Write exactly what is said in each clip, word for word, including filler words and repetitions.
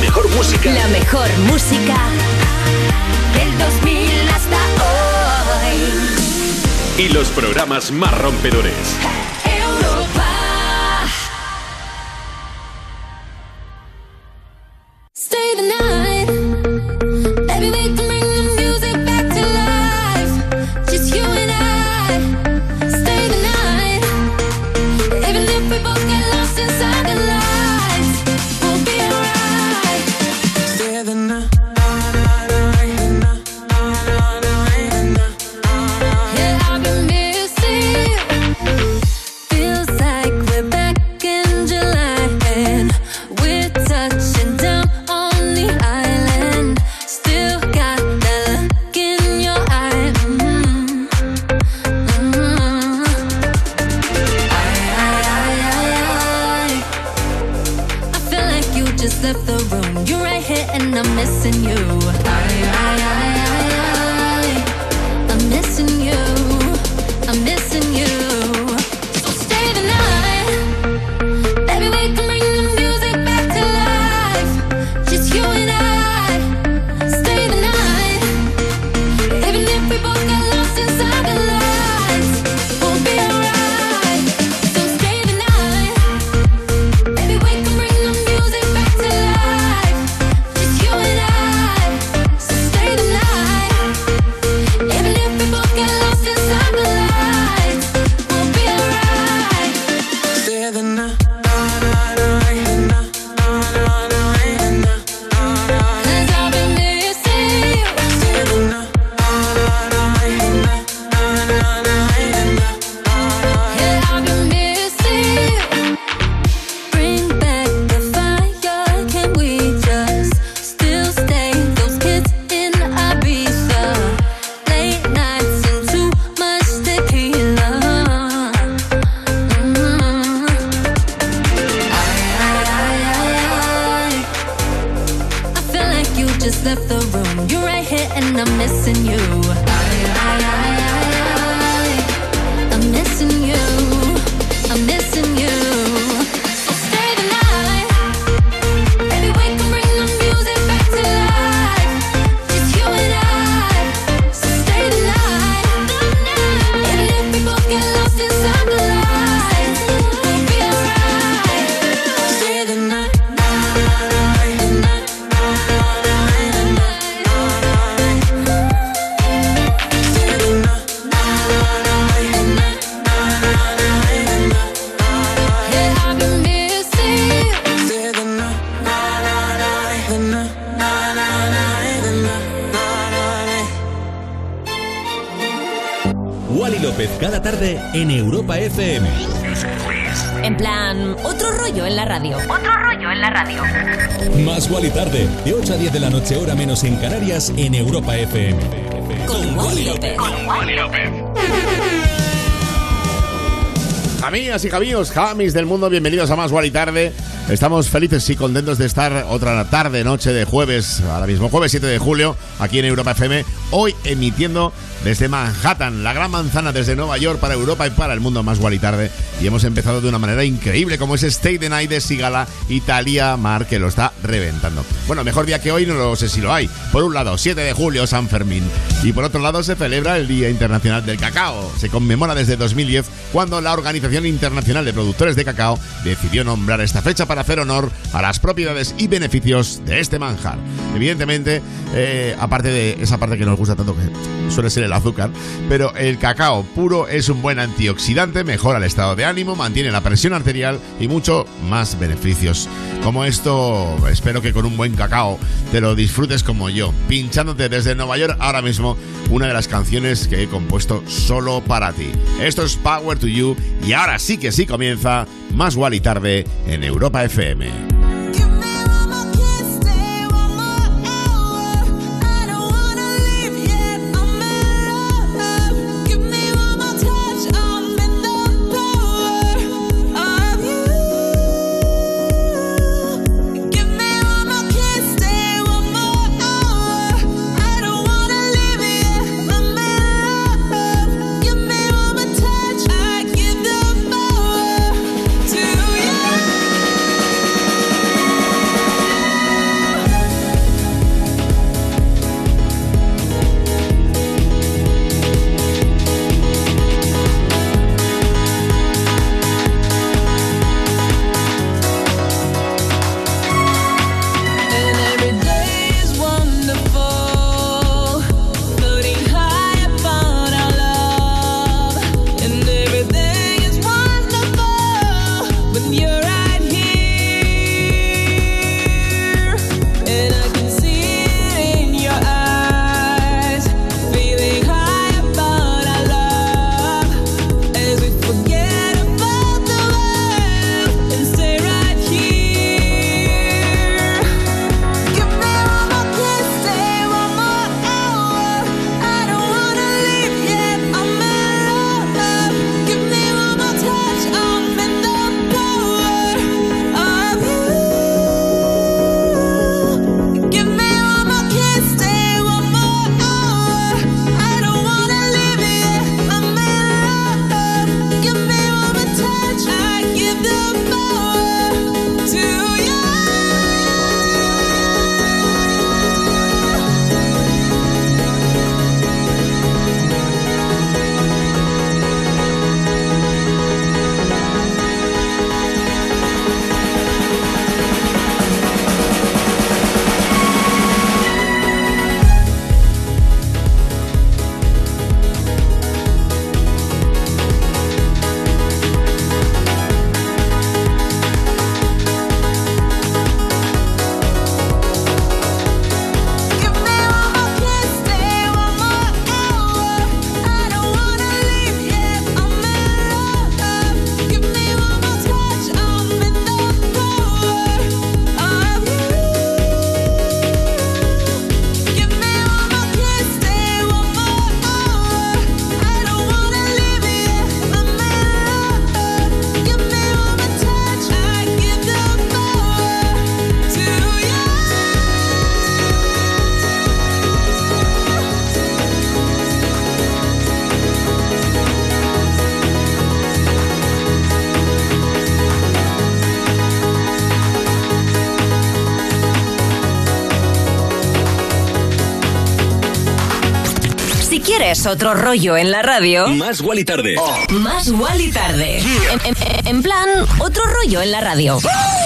mejor música. La mejor música del dos mil hasta hoy. Y los programas más rompedores. Europa. Stay the night. Baby, we can bring the music back to life. Just you and I. Stay the night. Even if we both get lost inside the lights, we'll be alright. Stay the night. Left the room, you're right here and I'm missing you. I, I, I, I, I, I'm missing you. I'm missing you. So stay the night. Baby, we can bring the music back to life. Just you and I. Stay the night. Even if we both get lost inside the lights, we'll be alright. So stay the night. Baby, we can bring the music back to life. Just you and I. So stay the night. Even if we both get lost inside the lights, we'll be alright. Stay the night. Cause I've been missing you. Stay the night. Yeah, I've been missing you. Bring back the fire. Can we just still stay those kids in Ibiza? Late nights and too much tequila. Mm-hmm. I, I, I, I, I feel like you just left the room. You're right here and I'm missing you. I, I, I, I, I'm missing you. I'm missing you. So stay the night. Baby, we can bring the music back to life. Just you and I. So stay the night. Even if we both get lost inside the lights, we'll be alright. Stay the night. Yeah, I've been missing you. Stay the night. The night. Wally López cada tarde en Europa F M. En plan, otro rollo en la radio. Otro rollo en la radio. Más Wally tarde, de ocho a diez de la noche, hora menos en Canarias, en Europa F M. Con Wally López. Amigas y amigos, jamis del mundo, bienvenidos a Más Wally Tarde. Estamos felices y contentos de estar otra tarde, noche de jueves, ahora mismo jueves siete de julio, aquí en Europa F M, hoy emitiendo desde Manhattan, la gran manzana, desde Nueva York para Europa y para el mundo. Más Wally Tarde, y hemos empezado de una manera increíble, como es Stay the Night de Sigala y Thalia Mar, que lo está reventando. Bueno, mejor día que hoy no lo sé si lo hay. Por un lado, siete de julio, San Fermín, y por otro lado se celebra el Día Internacional del Cacao. Se conmemora desde dos mil diez, cuando la Organización Internacional de Productores de Cacao decidió nombrar esta fecha para hacer honor a las propiedades y beneficios de este manjar. Evidentemente, eh, aparte de esa parte que nos gusta tanto, que suele ser el azúcar, pero el cacao puro es un buen antioxidante, mejora el estado de ánimo, mantiene la presión arterial y mucho más beneficios. Como esto, espero que con un buen cacao te lo disfrutes como yo, pinchándote desde Nueva York ahora mismo una de las canciones que he compuesto solo para ti. Esto es Power to You, y ahora sí que sí comienza Más Wally Tarde en Europa F M. I give the power to you. ¿Quieres otro rollo en la radio? Más Wally Tarde. Oh. Más Wally Tarde. En, en, en plan, otro rollo en la radio.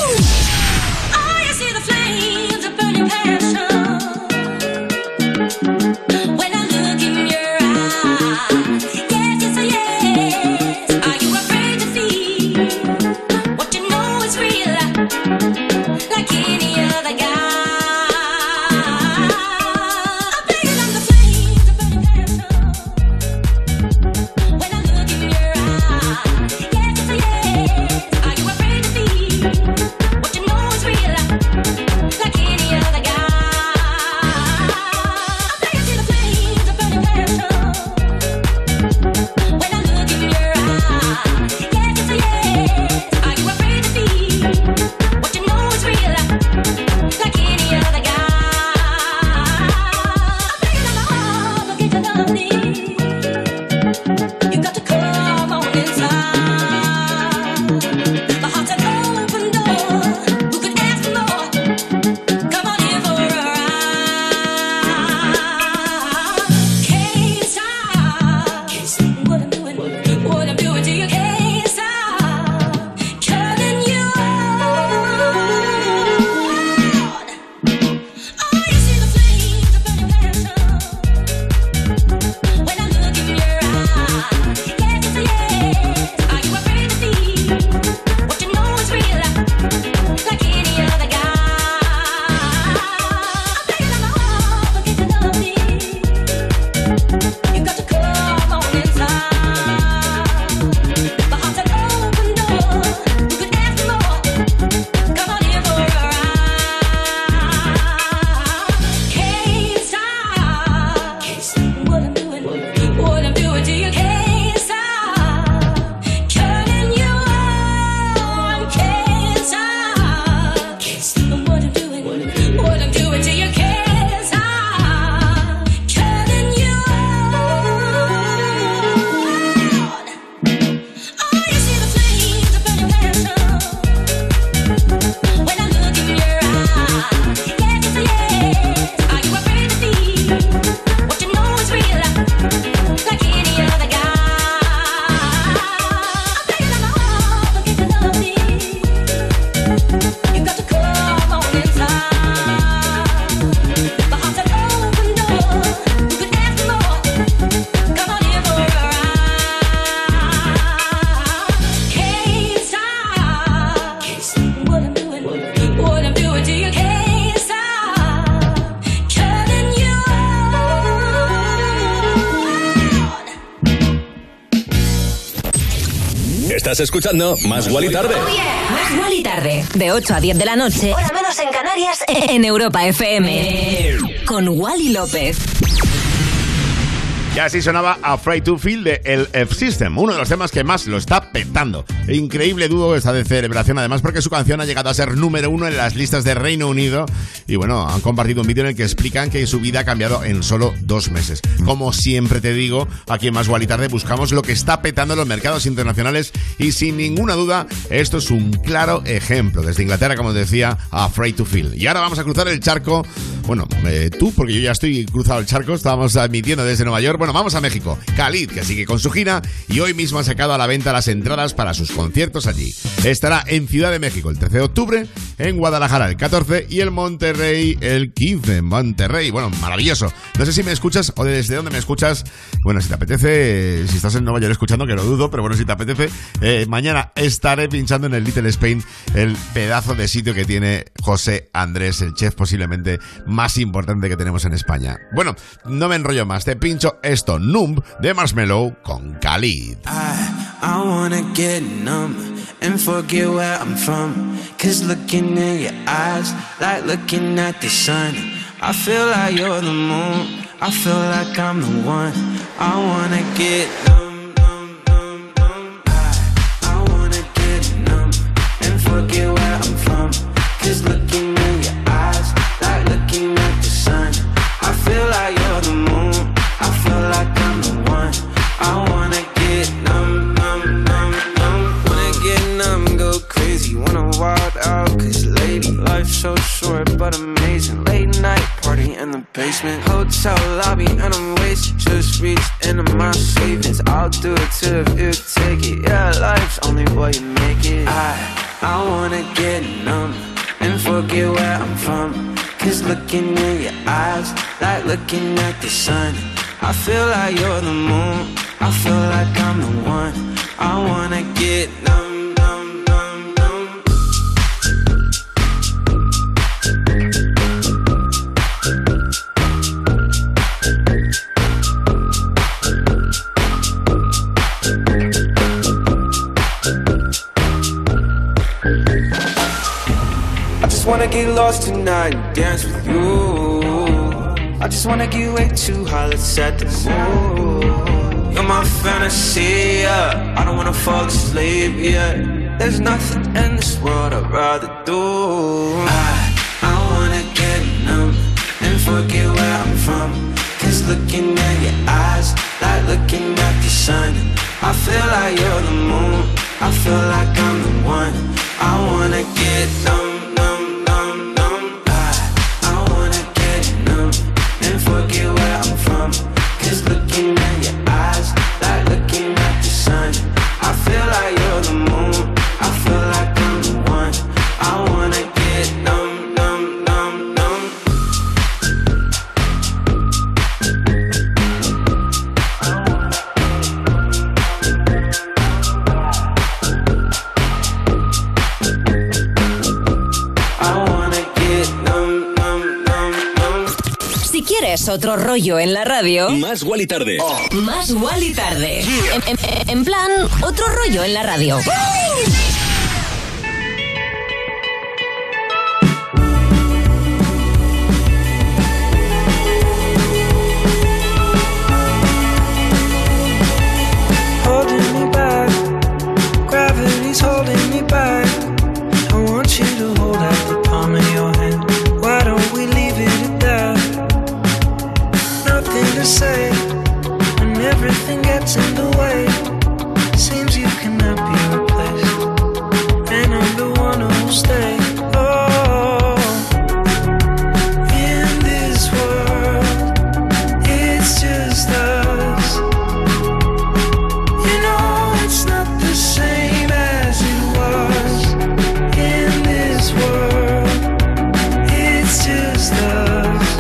Estás escuchando Más Wally Tarde. Oh, yeah. Más Wally Tarde. De ocho a diez de la noche. Hora menos en Canarias. En Europa F M. Con Wally López. Ya así sonaba Afraid to Feel de el F-System, uno de los temas que más lo está petando. Increíble dúo esta de celebración, además, porque su canción ha llegado a ser número uno en las listas de Reino Unido. Y bueno, han compartido un vídeo en el que explican que su vida ha cambiado en solo dos meses. Como siempre te digo, aquí en Más Wally Tarde buscamos lo que está petando en los mercados internacionales y sin ninguna duda, esto es un claro ejemplo. Desde Inglaterra, como decía, Afraid to Feel. Y ahora vamos a cruzar el charco. Bueno, eh, tú, porque yo ya estoy cruzado el charco, estábamos admitiendo desde Nueva York. Bueno, vamos a México. Khalid, que sigue con su gira y hoy mismo ha sacado a la venta las entradas para sus conciertos allí. Estará en Ciudad de México el trece de octubre, en Guadalajara el catorce y en Monterrey el quince. En Monterrey, bueno, maravilloso. No sé si me escuchas o desde dónde me escuchas. Bueno, si te apetece, si estás en Nueva York escuchando, que lo dudo, pero bueno, si te apetece, eh, mañana estaré pinchando en el Little Spain, el pedazo de sitio que tiene José Andrés, el chef posiblemente más importante que tenemos en España. Bueno, no me enrollo más, te pincho esto, Numb de Marshmello con Khalid. I, I wanna get numb and forget where I'm from, cause looking in your eyes like looking at the sun. I feel like you're the moon, I feel like I'm the one. I wanna get numb, numb, numb, numb. I, I wanna get numb and forget where I'm from, cause looking in your eyes like looking at the sun. I feel like you're the moon, I feel like I'm the one. I wanna get numb, numb, numb, numb. Wanna get numb, go crazy, wanna wild out, cause lady, life's so short but amazing. Late night party in the basement. basement. Hotel lobby and I'm wasted. Just reached into my savings. I'll do it too if you take it. Yeah, life's only what you make it. I, I wanna get numb and forget where I'm from. Cause looking in your eyes, like looking at the sun. I feel like you're the moon, I feel like I'm the one. I wanna get numb, numb, numb, numb. I just wanna get lost tonight and dance with you. I just wanna get way too high, let's set the mood. You're my fantasy, yeah. I don't wanna fall asleep, yeah. There's nothing in this world I'd rather do. I, I wanna get numb and forget where I'm from. Cause looking at your eyes, like looking at the sun. I feel like you're the moon, I feel like I'm the one. I wanna get numb, numb, numb, numb. I, I wanna get numb and forget where I'm from. Cause looking at your eyes, like looking at the sun. I feel like you're the moon, I feel like I'm the one. I wanna get numb, numb, numb, numb. I wanna get numb, numb, numb, numb. Si quieres otro rollo en la radio, Más Wally Tarde. Más Wally Tarde. En, en- en plan, otro rollo en la radio. Holding me back, gravity's holding me back. I want you to hold out the palm of your hand. Why don't we leave it at that? Nothing to say when everything gets in the way. Seems you cannot be replaced, and I'm the one who'll stay. Oh, in this world, it's just us. You know it's not the same as it was. In this world, it's just us.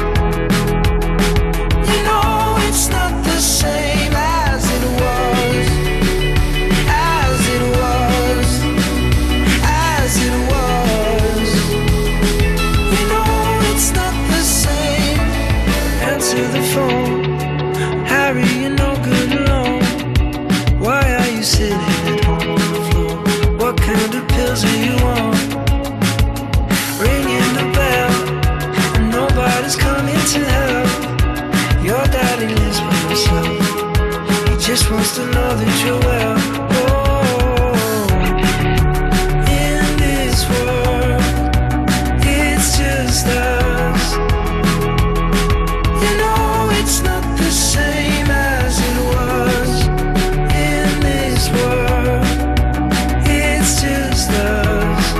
You know it's not the same as it was. As it was. As it was. You know it's not the same. Answer the phone. Harry, you're no good alone. Why are you sitting at home on the floor? What kind of pills are you on? Ringing the bell, and nobody's coming to help. Your daddy lives by himself. He just wants to know that you're well. Oh, in this world, it's just us. You know it's not the same as it was. In this world, it's just us.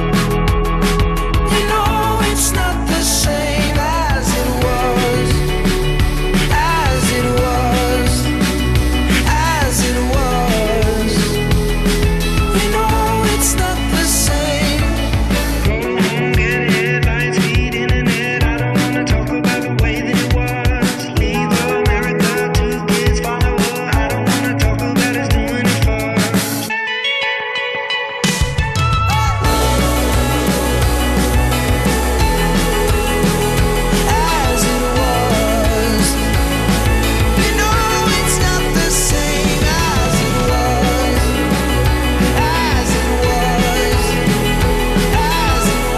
You know it's not the same as it was. As it was. As it was. You know it's not the same. Go home, get headlines, feed internet. I don't wanna talk about the way that it was. Leave America, two kids follow her. I don't wanna talk about us doing it first. As it was. You know it's not the same as it was. As it was. As it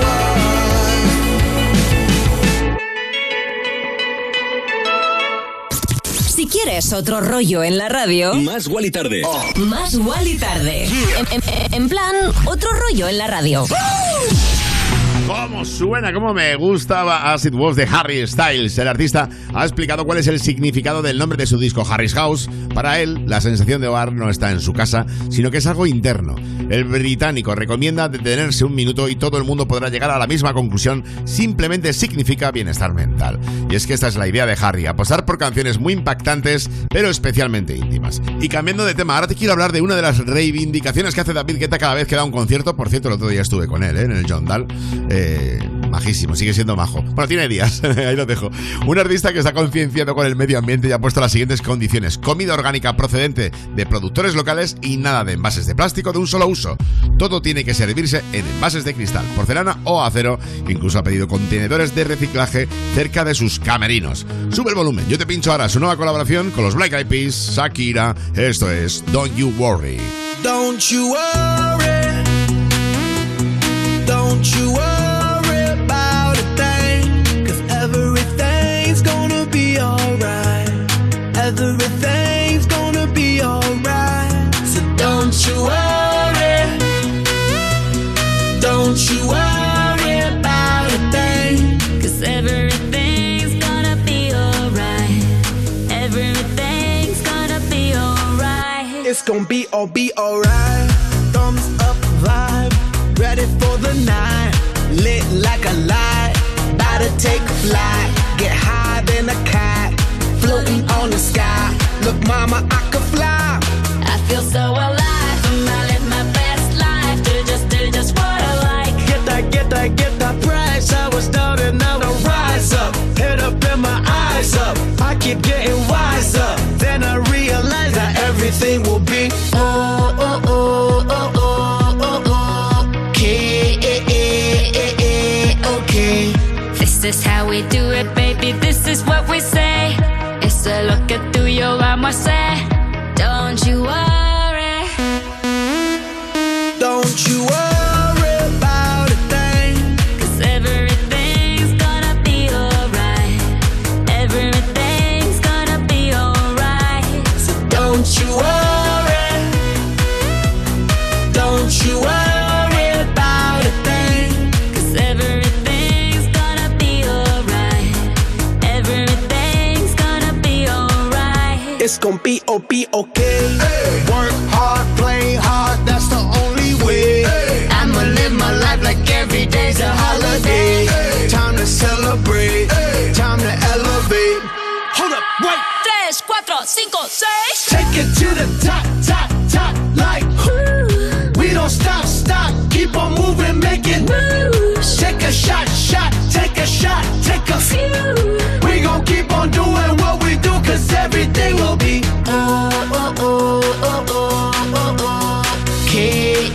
was. Si quieres otro rollo en la radio, Más Wally Tarde. Más Wally Tarde. En, en- en plan, otro rollo en la radio. ¿Cómo suena? ¿Cómo me gusta As It Was de Harry Styles? El artista ha explicado cuál es el significado del nombre de su disco, Harry's House. Para él, la sensación de hogar no está en su casa, sino que es algo interno. El británico recomienda detenerse un minuto y todo el mundo podrá llegar a la misma conclusión. Simplemente significa bienestar mental. Y es que esta es la idea de Harry, apostar por canciones muy impactantes, pero especialmente íntimas. Y cambiando de tema, ahora te quiero hablar de una de las reivindicaciones que hace David Guetta cada vez que da un concierto. Por cierto, el otro día estuve con él, ¿eh? En el John Dal. Eh, majísimo, sigue siendo majo. Bueno, tiene días, ahí lo dejo. Un artista que está concienciado con el medio ambiente y ha puesto las siguientes condiciones: comida orgánica procedente de productores locales y nada de envases de plástico de un solo uso. Todo tiene que servirse en envases de cristal, porcelana o acero. Incluso ha pedido contenedores de reciclaje cerca de sus camerinos. Sube el volumen, yo te pincho ahora su nueva colaboración con los Black Eyed Peas, Shakira. Esto es Don't You Worry. Don't you worry, don't you worry about a thing, 'cause everything's gonna be alright, everything's gonna be alright, so don't you worry, don't you worry about a thing, 'cause everything's gonna be alright, everything's gonna be alright, it's gonna be all be alright, thumbs up vibe, ready for the night, lit like a light, about to take a flight, get high than a kite, floating on the sky, look mama I could fly, I feel so alive, and I live my best life, do just, do just what I like, get that, get that, get that price, I was down and now I rise up, head up and my eyes up, I keep getting wiser, then I realize that everything will be oh, oh, oh, oh, oh, oh, okay, okay. This is how we do it, baby, this is what we say. Eso es lo que tú y yo vamos a hacer. Don't you worry, don't you worry about a thing, 'cause everything's gonna be alright, everything's gonna be alright, so don't you worry, don't you worry about a thing, 'cause everything's gonna be alright, everything's gonna be alright, it's gonna be oh be okay, hey. Work hard, play hard, that's the only way, hey. I'ma live my life like every day's a holiday, hey. Time to celebrate, hey. Time to elevate. Hold up, wait. Tres, cuatro, cinco, seis. Take it to the top, top, top, like ooh. We don't stop, stop, keep on moving, make it moves. Take a shot, shot, take a shot, take a few. We gon' keep on doing what we do, 'cause everything will be oh, oh, oh, oh, oh, oh, oh. Okay,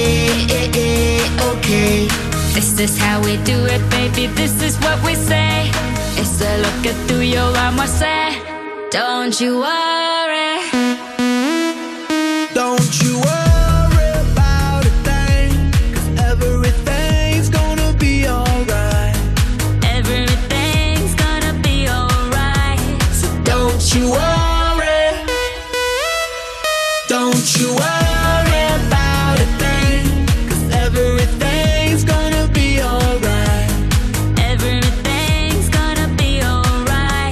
okay. This is how we do it, baby, this is what we say. Eso es lo que tú y yo vamos a hacer. Don't you worry, don't you worry about a thing, 'cause everything's gonna be alright, everything's gonna be alright, so don't you worry, don't you worry about a thing, 'cause everything's gonna be alright, everything's gonna be alright.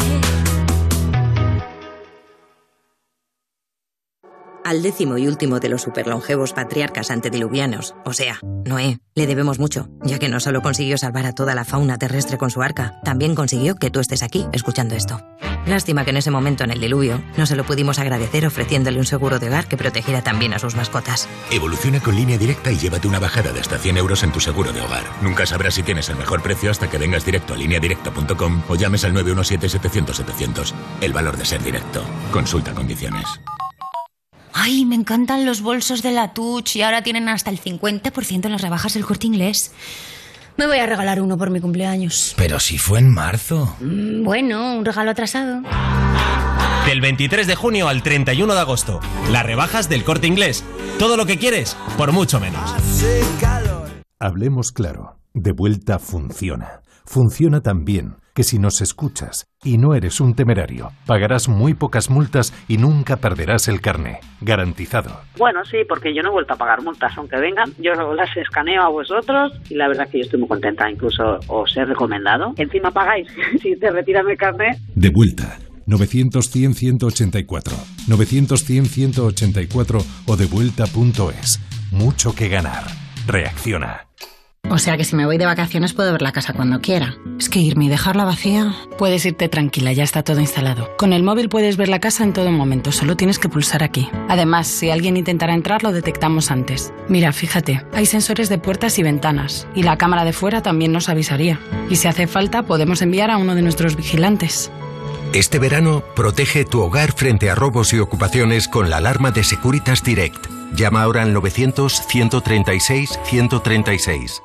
Al décimo y último de los superlongevos patriarcas antediluvianos, o sea, Noé, le debemos mucho, ya que no solo consiguió salvar a toda la fauna terrestre con su arca, también consiguió que tú estés aquí escuchando esto. Lástima que en ese momento, en el diluvio, no se lo pudimos agradecer ofreciéndole un seguro de hogar que protegiera también a sus mascotas. Evoluciona con Línea Directa y llévate una bajada de hasta cien euros en tu seguro de hogar. Nunca sabrás si tienes el mejor precio hasta que vengas directo a línea directa punto com o llames al nueve uno siete, setecientos, setecientos. El valor de ser directo. Consulta condiciones. Ay, me encantan los bolsos de la Touch y ahora tienen hasta el cincuenta por ciento en las rebajas del Corte Inglés. Me voy a regalar uno por mi cumpleaños. Pero si fue en marzo. Mm, bueno, un regalo atrasado. Del veintitrés de junio al treinta y uno de agosto. Las rebajas del Corte Inglés. Todo lo que quieres, por mucho menos. Hablemos claro. De vuelta funciona. Funciona tan bien que si nos escuchas y no eres un temerario, pagarás muy pocas multas y nunca perderás el carné. Garantizado. Bueno, sí, porque yo no he vuelto a pagar multas, aunque vengan, yo las escaneo a vosotros y la verdad que yo estoy muy contenta, incluso os he recomendado. Encima pagáis si te retiran el carné. De vuelta. novecientos cien ciento ochenta y cuatro. novecientos cien ciento ochenta y cuatro o devuelta punto es. Mucho que ganar. Reacciona. O sea que si me voy de vacaciones puedo ver la casa cuando quiera. Es que irme y dejarla vacía... Puedes irte tranquila, ya está todo instalado. Con el móvil puedes ver la casa en todo momento, solo tienes que pulsar aquí. Además, si alguien intentara entrar, lo detectamos antes. Mira, fíjate, hay sensores de puertas y ventanas, y la cámara de fuera también nos avisaría. Y si hace falta, podemos enviar a uno de nuestros vigilantes. Este verano, protege tu hogar frente a robos y ocupaciones con la alarma de Securitas Direct. Llama ahora al novecientos, ciento treinta y seis, ciento treinta y seis.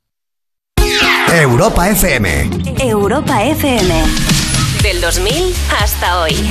Europa F M. Europa F M. Del dos mil hasta hoy.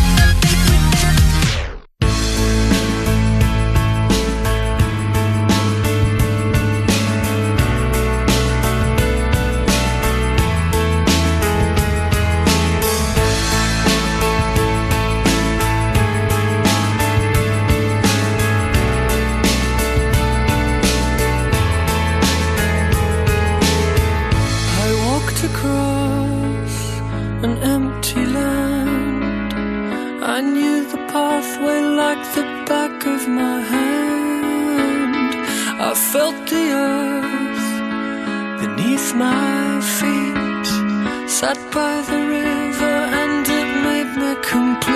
My feet sat by the river and it made me complete.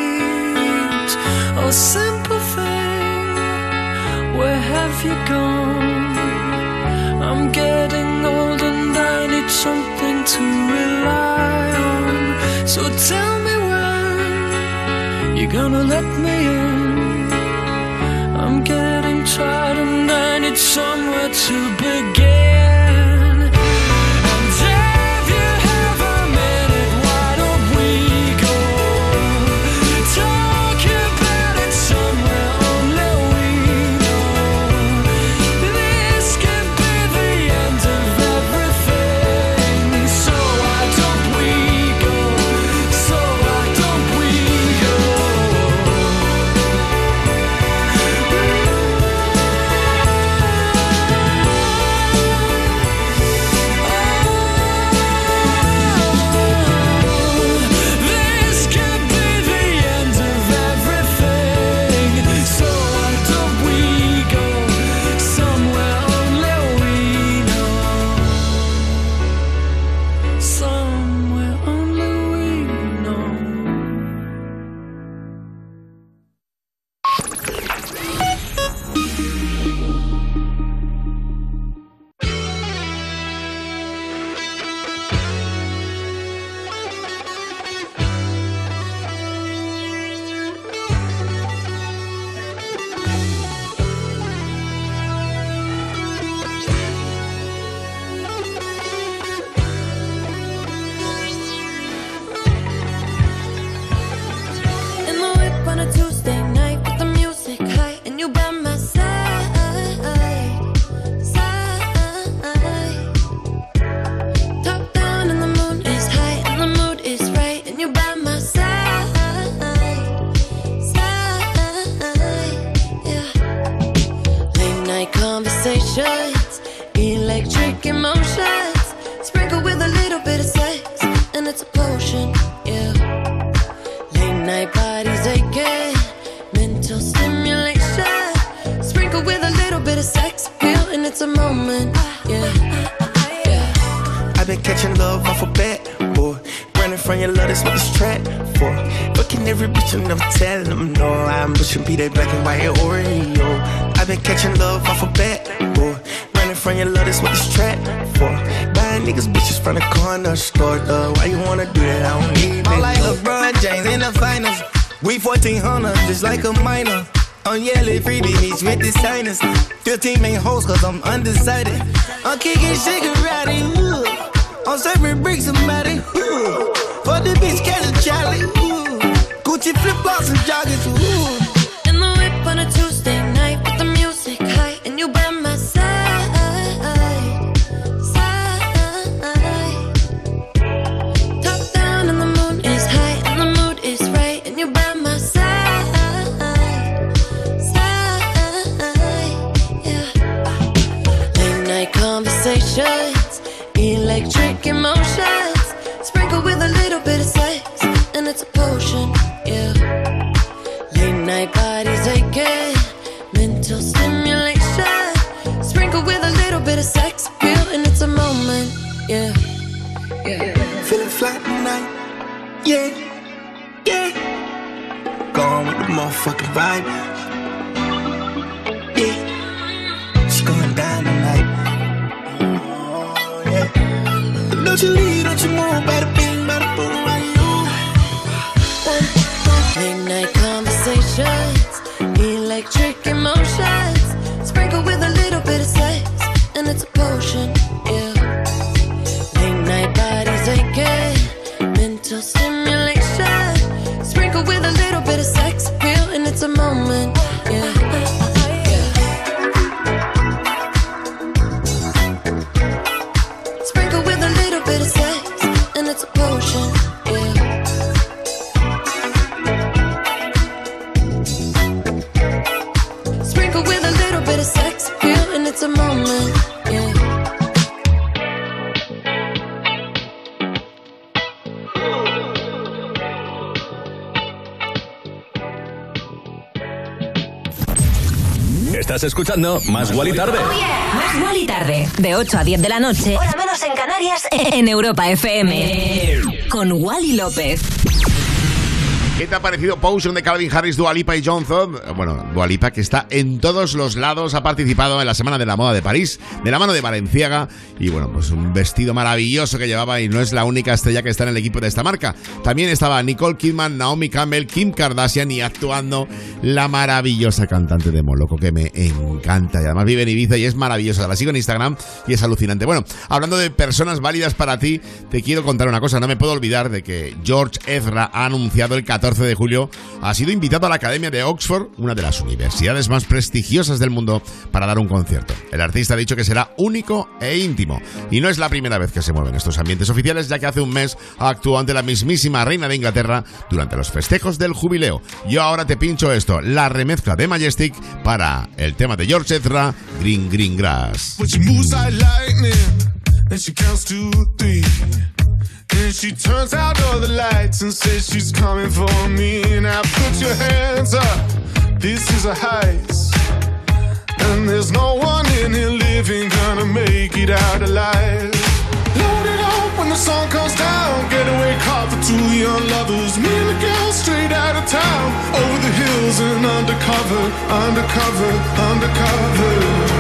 Oh, simple thing, where have you gone? I'm getting old and I need something to rely on. So tell me when you're gonna let me in. I'm getting tired and I need somewhere to begin. Be that black and white Oreo. I've been catching love off a bat, boy. Running from your love, that's what this trap for. Buying niggas bitches from the corner store, though. Why you wanna do that? I don't need it. I'm like LeBron James in the finals. We fourteen hundred, just like a minor. I'm yelling freebie meets with the signers. fifteen main hoes, cause I'm undecided. I'm kicking Shigarati, ooh. I'm serving bricks, somebody, ooh. For the bitch, catch a Charlie, ooh. Gucci flip-flops and joggers, ooh. On a Tuesday night with the music high and you by my side, side. Yeah, yeah. Gone with the motherfucking vibe. Yeah, it's going down tonight. Oh, yeah. Don't you leave, don't you move, bada bing, bada boom, bada you. Late night conversations, electric emotions, sprinkle with a little bit of sex, and it's a potion, yeah. Late night bodies aching, mental stimulation, sprinkle with a little bit of sex appeal, and it's a moment, yeah. Sprinkle with a little bit of sex, and it's a potion, yeah. Sprinkle with a little bit of sex appeal, and it's a moment, yeah. Estás escuchando Más Guali Tarde. Oh yeah. Más Guali Tarde. De ocho a diez de la noche. Hora menos en Canarias. En Europa F M. Con Wally López. ¿Qué te ha parecido Potion de Calvin Harris, Dua Lipa y Johnson? Bueno, Dua Lipa, que está en todos los lados, ha participado en la Semana de la Moda de París, de la mano de Balenciaga, y bueno, pues un vestido maravilloso que llevaba, y no es la única estrella que está en el equipo de esta marca. También estaba Nicole Kidman, Naomi Campbell, Kim Kardashian y actuando la maravillosa cantante de Moloko, que me encanta, y además vive en Ibiza y es maravillosa. La sigo en Instagram y es alucinante. Bueno, hablando de personas válidas para ti, te quiero contar una cosa. No me puedo olvidar de que George Ezra ha anunciado el catorce de julio, ha sido invitado a la Academia de Oxford, una de las universidades más prestigiosas del mundo, para dar un concierto. El artista ha dicho que será único e íntimo, y no es la primera vez que se mueve en estos ambientes oficiales, ya que hace un mes actuó ante la mismísima reina de Inglaterra durante los festejos del jubileo. Yo ahora te pincho esto, la remezcla de Majestic para el tema de George Ezra, Green Green Grass. And she turns out all the lights and says she's coming for me. Now put your hands up, this is a heist. And there's no one in here living gonna make it out alive. Load it up when the sun comes down. Getaway car for two young lovers. Me and the girl straight out of town. Over the hills and undercover, undercover, undercover.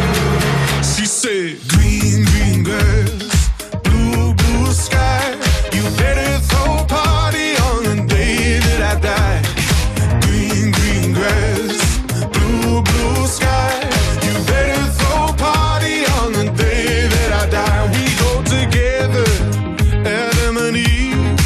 She said, green, green grass, blue, blue sky. You better throw a party on the day that I die. Green, green grass, blue, blue sky. You better throw a party on the day that I die. We go together, Adam and Eve.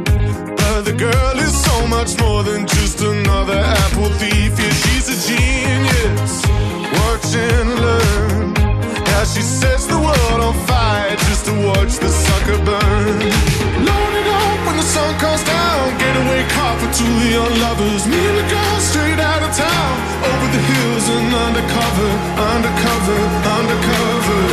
But the girl is so much more than just another apple thief. Yeah, she's a genius. Watch and learn. How she sets the world on fire just to watch the sucker burn. Load it up when the sun comes down. Getaway car for two young lovers. Me and the girl straight out of town. Over the hills and undercover, undercover, undercover.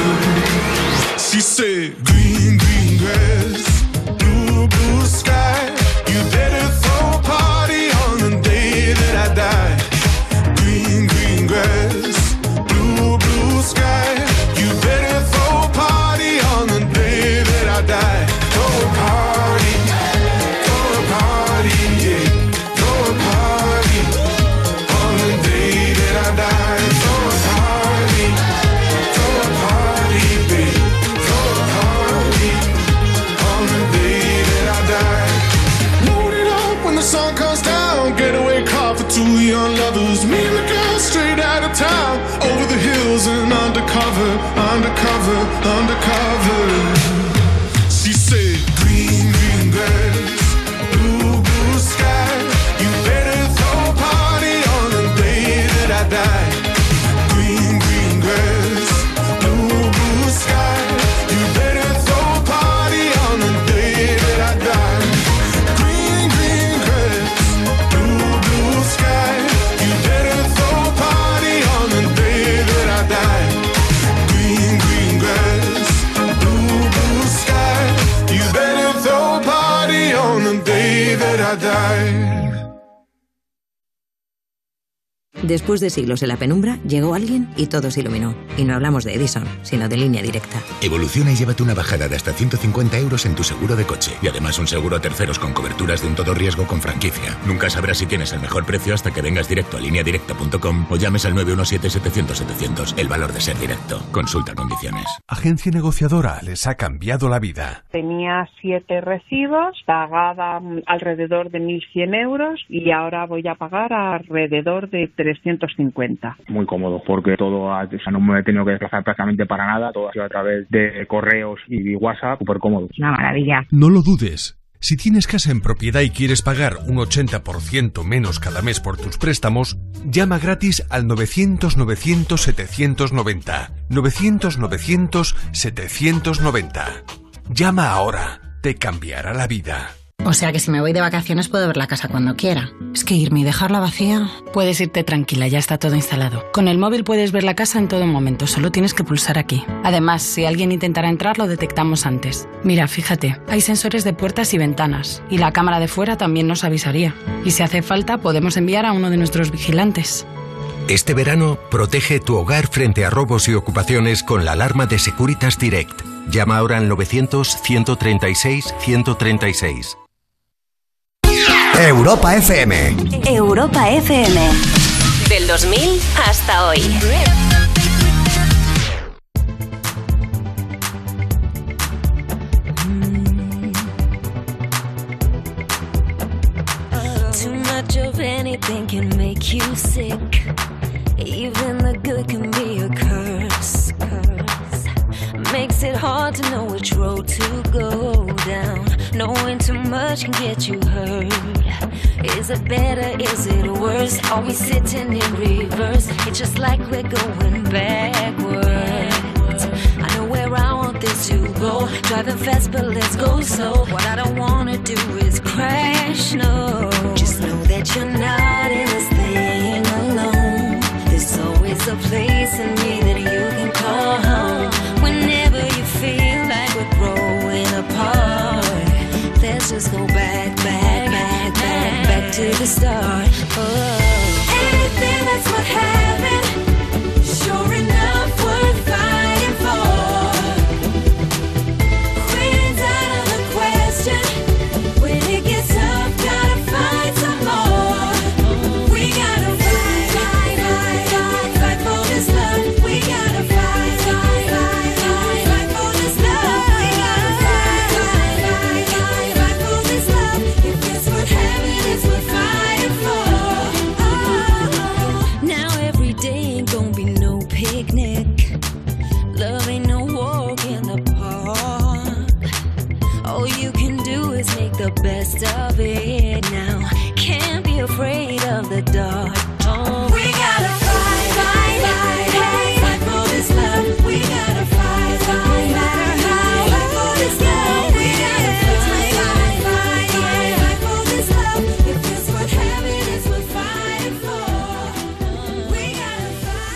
She said, green, green grass, blue, blue sky. You better throw a party on the day that I die. Green, green grass, blue, blue sky. You better throw a party on the day that I die. Throw a party, throw a party, yeah. Throw a party on the day that I die. Throw a party, throw a party, babe. Throw a party on the day that I die. Load it up when the sun comes down. Getaway car for two young lovers. Me and the girl straight out of town. Over the hills and undercover, undercover, undercover. She said, green, green grass, blue, blue sky. You better throw a party on the day that I die. Green, green grass, blue, blue sky. You better throw a party on the day that I die. Green, green grass, blue, blue sky. You better throw a party on the day that I die. Green, green grass, blue, Después de siglos en la penumbra, llegó alguien y todo se iluminó. Y no hablamos de Edison, sino de Línea Directa. Evoluciona y llévate una bajada de hasta ciento cincuenta euros en tu seguro de coche. Y además un seguro a terceros con coberturas de un todo riesgo con franquicia. Nunca sabrás si tienes el mejor precio hasta que vengas directo a línea directa punto com o llames al nueve uno siete setecientos setecientos. El valor de ser directo. Consulta condiciones. Agencia Negociadora les ha cambiado la vida. Tenía siete recibos, pagaba alrededor de mil cien euros y ahora voy a pagar alrededor de trescientos cincuenta. Muy cómodo porque todo, ha, o sea, no me he tenido que desplazar prácticamente para nada, todo ha sido a través de correos y WhatsApp, súper cómodo. Una maravilla. No lo dudes. Si tienes casa en propiedad y quieres pagar un ochenta por ciento menos cada mes por tus préstamos, llama gratis al novecientos novecientos setecientos noventa. novecientos novecientos setecientos noventa. Llama ahora. Te cambiará la vida. O sea que si me voy de vacaciones puedo ver la casa cuando quiera. Es que irme y dejarla vacía... Puedes irte tranquila, ya está todo instalado. Con el móvil puedes ver la casa en todo momento, solo tienes que pulsar aquí. Además, si alguien intentara entrar, lo detectamos antes. Mira, fíjate, hay sensores de puertas y ventanas. Y la cámara de fuera también nos avisaría. Y si hace falta, podemos enviar a uno de nuestros vigilantes. Este verano, protege tu hogar frente a robos y ocupaciones con la alarma de Securitas Direct. Llama ahora al novecientos ciento treinta y seis ciento treinta y seis. Europa F M. Europa F M. Del dos mil hasta hoy. Too much of anything can make you sick. Even the good can be a curse. Curse makes it hard to know which road to go down. Knowing too much can get you hurt. Is it better? Is it worse? Are we sitting in reverse? It's just like we're going backwards. I know where I want this to go. Driving fast, but let's go slow. What I don't wanna do is crash, no. Just know that you're not in this thing alone. There's always a place in me that you can call home. Whenever you feel like we're growing apart, let's just go back, back, back, back, back to the start. Oh. Anything that's what happened, sure enough, worth fighting for. Quitting's out of the question. When it gets tough, gotta find some more. We gotta fight, fight, fight, fight, fight for this love. We gotta fight, fight, fight, fight, fight for this love. We gotta fight, fight, fight, fight, fight for this love. If it's what having is what fighting for. Oh, now every day ain't gonna be no picnic. Love ain't no walk in the park. All you can do is make the best of it now. Can't be afraid of the dark. Oh, we gotta fight, fight, fight, fight, fight for this love. We gotta fight, fight, fight, fight, fight for this love. We gotta fight, fight, fight, fight, fight for this love. If it's what having is what fighting for. We gotta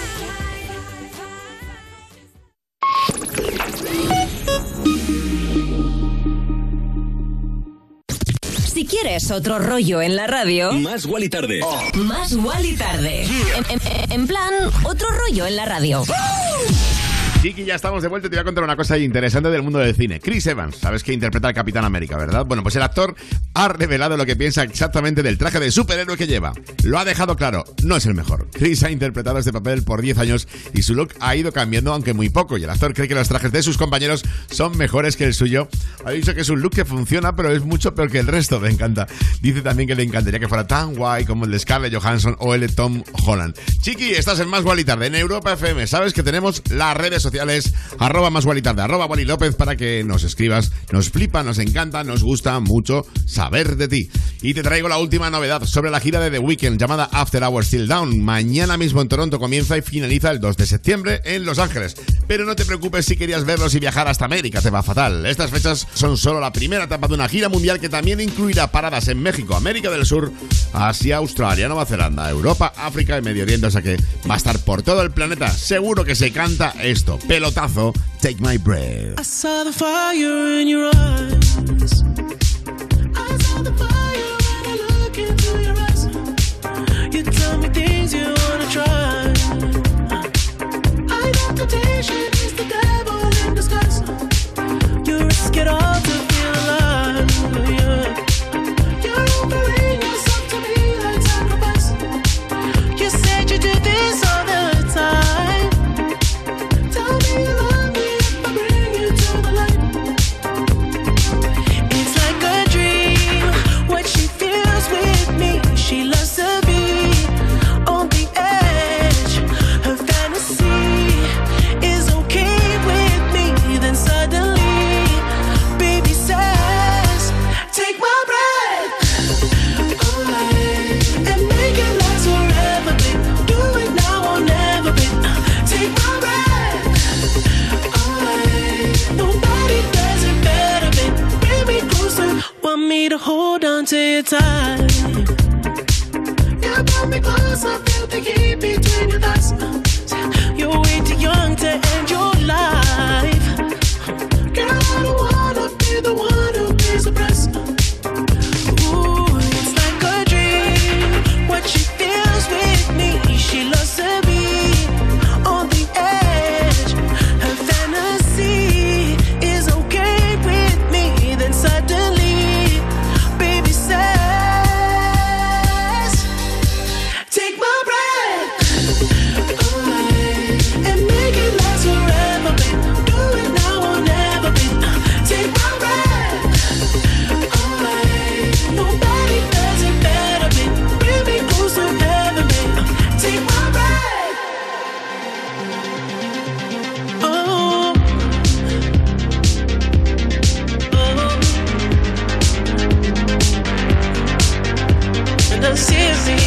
Si quieres otro rollo en la radio, Más Wally Tarde. Más Wally Tarde. En, en- en plan, otro rollo en la radio. Chiqui, ya estamos de vuelta y te voy a contar una cosa interesante del mundo del cine. Chris Evans, sabes que interpreta al Capitán América, ¿verdad? Bueno, pues el actor ha revelado lo que piensa exactamente del traje de superhéroe que lleva. Lo ha dejado claro, no es el mejor. Chris ha interpretado este papel por diez años y su look ha ido cambiando, aunque muy poco. Y el actor cree que los trajes de sus compañeros son mejores que el suyo. Ha dicho que es un look que funciona, pero es mucho peor que el resto. Me encanta. Dice también que le encantaría que fuera tan guay como el de Scarlett Johansson o el de Tom Holland. Chiqui, estás en Más Wally Tarde, en Europa F M. Sabes que tenemos las redes sociales arroba Más Wally Tarde, arroba Wally López, para que nos escribas. Nos flipa, nos encanta, nos gusta mucho saber de ti. Y te traigo la última novedad sobre la gira de The Weeknd llamada After Hours Till Down. Mañana mismo en Toronto comienza y finaliza el dos de septiembre en Los Ángeles. Pero no te preocupes si querías verlos y viajar hasta América, te va fatal. Estas fechas son solo la primera etapa de una gira mundial que también incluirá paradas en México, América del Sur, Asia, Australia, Nueva Zelanda, Europa, África y Medio Oriente. O sea que va a estar por todo el planeta. Seguro que se canta esto. Pelotazo, Take My Breath. I saw the fire in your eyes. I saw the fire when I look into your eyes. You tell me things you wanna on to your time. You brought me close, I feel the heat between your thighs. You're way too young to end your life. Girl, I don't wanna be the one who pays the price. Ooh, it's like a dream. What she feels with me, she loves to be on the edge. Her fantasy is okay with me. Then suddenly, baby says, take my breath away and make it last forever, babe. Do it now or never, babe. Take my breath away. Nobody does it better, babe. Bring me close to heaven, babe. Take my breath. Oh. Oh. And I'm serious.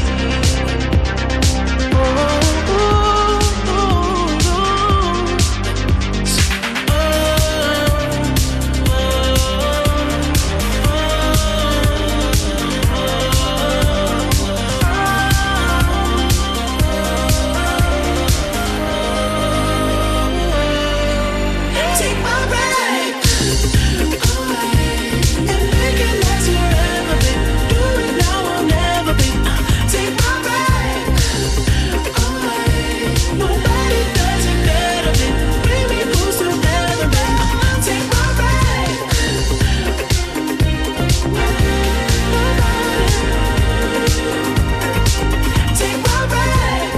Take my breath away and make it last forever, babe. Do it now or never, babe. Take my breath away. Nobody does it better, babe. Bring me close to heaven, babe. Take my breath. Take my breath.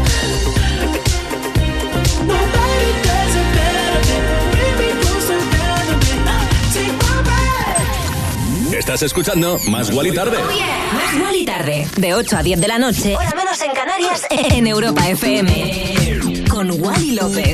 Nobody does it better, babe. Bring me close to heaven, babe. Take my breath. Estás escuchando Más Guali Tarde. Más Guali Tarde. De ocho a diez de la noche. Hora menos en Canarias. En Europa F M. Con Wally López.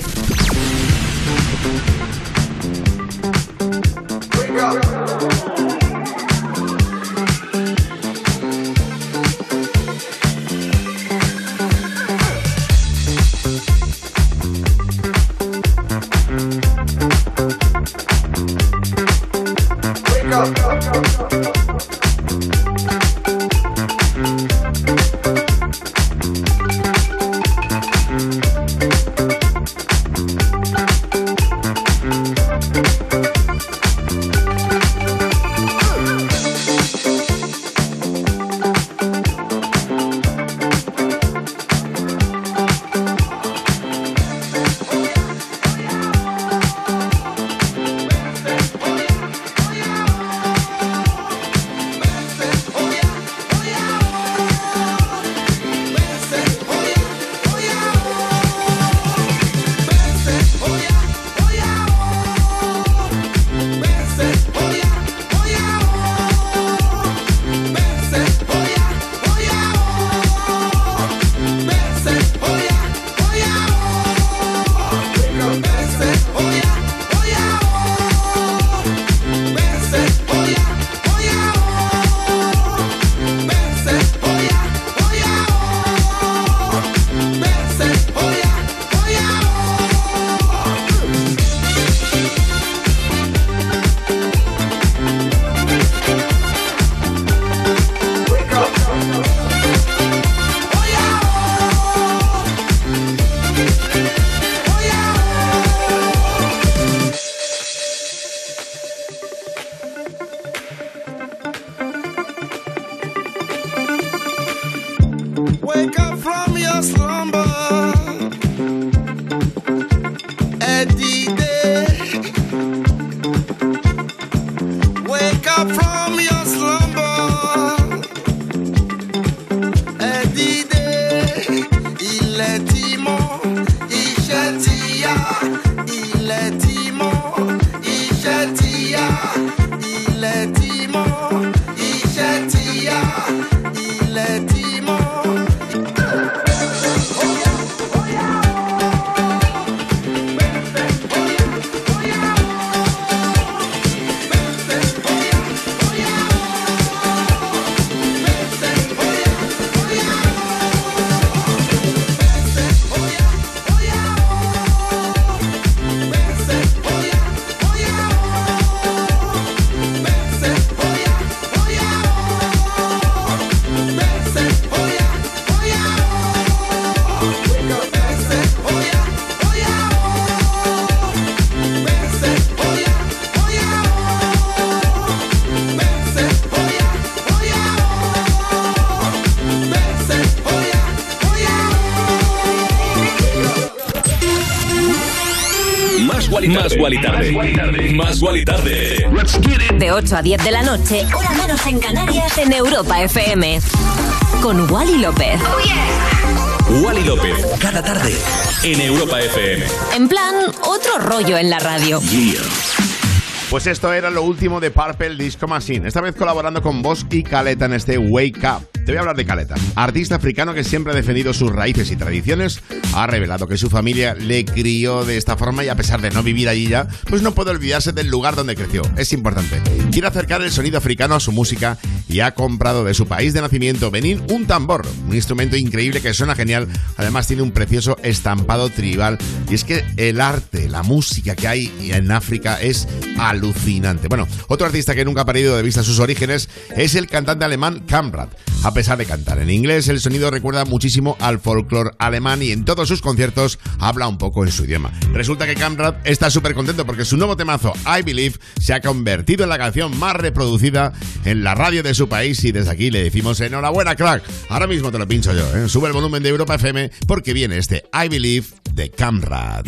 Más Guali Tarde. Más Guali Tarde. Más Guali Tarde. De ocho a diez de la noche, hora menos en Canarias, en Europa F M. Con Wally López. Oh, yeah. Wally López, cada tarde, en Europa F M. En plan, otro rollo en la radio. Yeah. Pues esto era lo último de Purple Disco Machine, esta vez colaborando con Bosch y Caleta en este Wake Up. Te voy a hablar de Caleta, artista africano que siempre ha defendido sus raíces y tradiciones. Ha revelado que su familia le crió de esta forma y a pesar de no vivir allí ya, pues no puede olvidarse del lugar donde creció. Es importante. Quiere acercar el sonido africano a su música y ha comprado de su país de nacimiento, Benín, un tambor, un instrumento increíble que suena genial. Además tiene un precioso estampado tribal y es que el arte, la música que hay en África es alucinante. Bueno, otro artista que nunca ha perdido de vista sus orígenes es el cantante alemán Kamprad. A pesar de cantar en inglés, el sonido recuerda muchísimo al folclore alemán y en todos sus conciertos habla un poco en su idioma. Resulta que Kamprad está súper contento porque su nuevo temazo, I Believe, se ha convertido en la canción más reproducida en la radio de su país y desde aquí le decimos enhorabuena, crack. Ahora mismo te lo pincho yo, ¿eh? Sube el volumen de Europa F M porque viene este I Believe de Kamprad.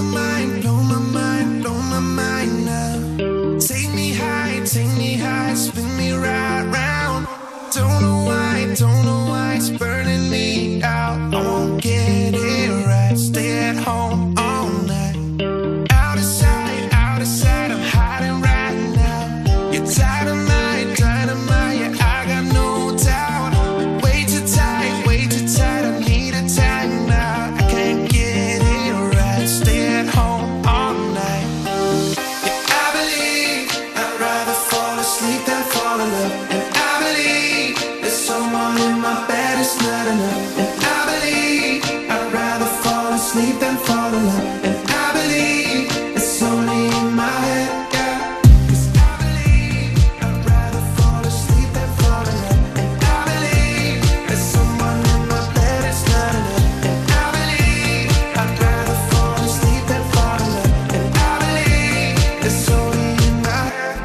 Take me high, take me high, spin me right round. Don't know why, don't know why it's burning me out. I won't get it right, stay at home all night. Out of sight, out of sight, I'm hiding right now. You're dynamite, dynamite, yeah, I got no doubt. Way too tight, way too tight, I need a time out. I can't get it right, stay at home all night. Sleep and fall in love, and I believe there's someone in my bed is not enough. And I believe I'd rather fall asleep than fall in love. And I believe it's only in my head, yeah. 'Cause I believe I'd rather fall asleep than fall in love. And I believe there's someone in my bed is not enough. And I believe I'd rather fall asleep than fall in love. And I believe it's only in my head.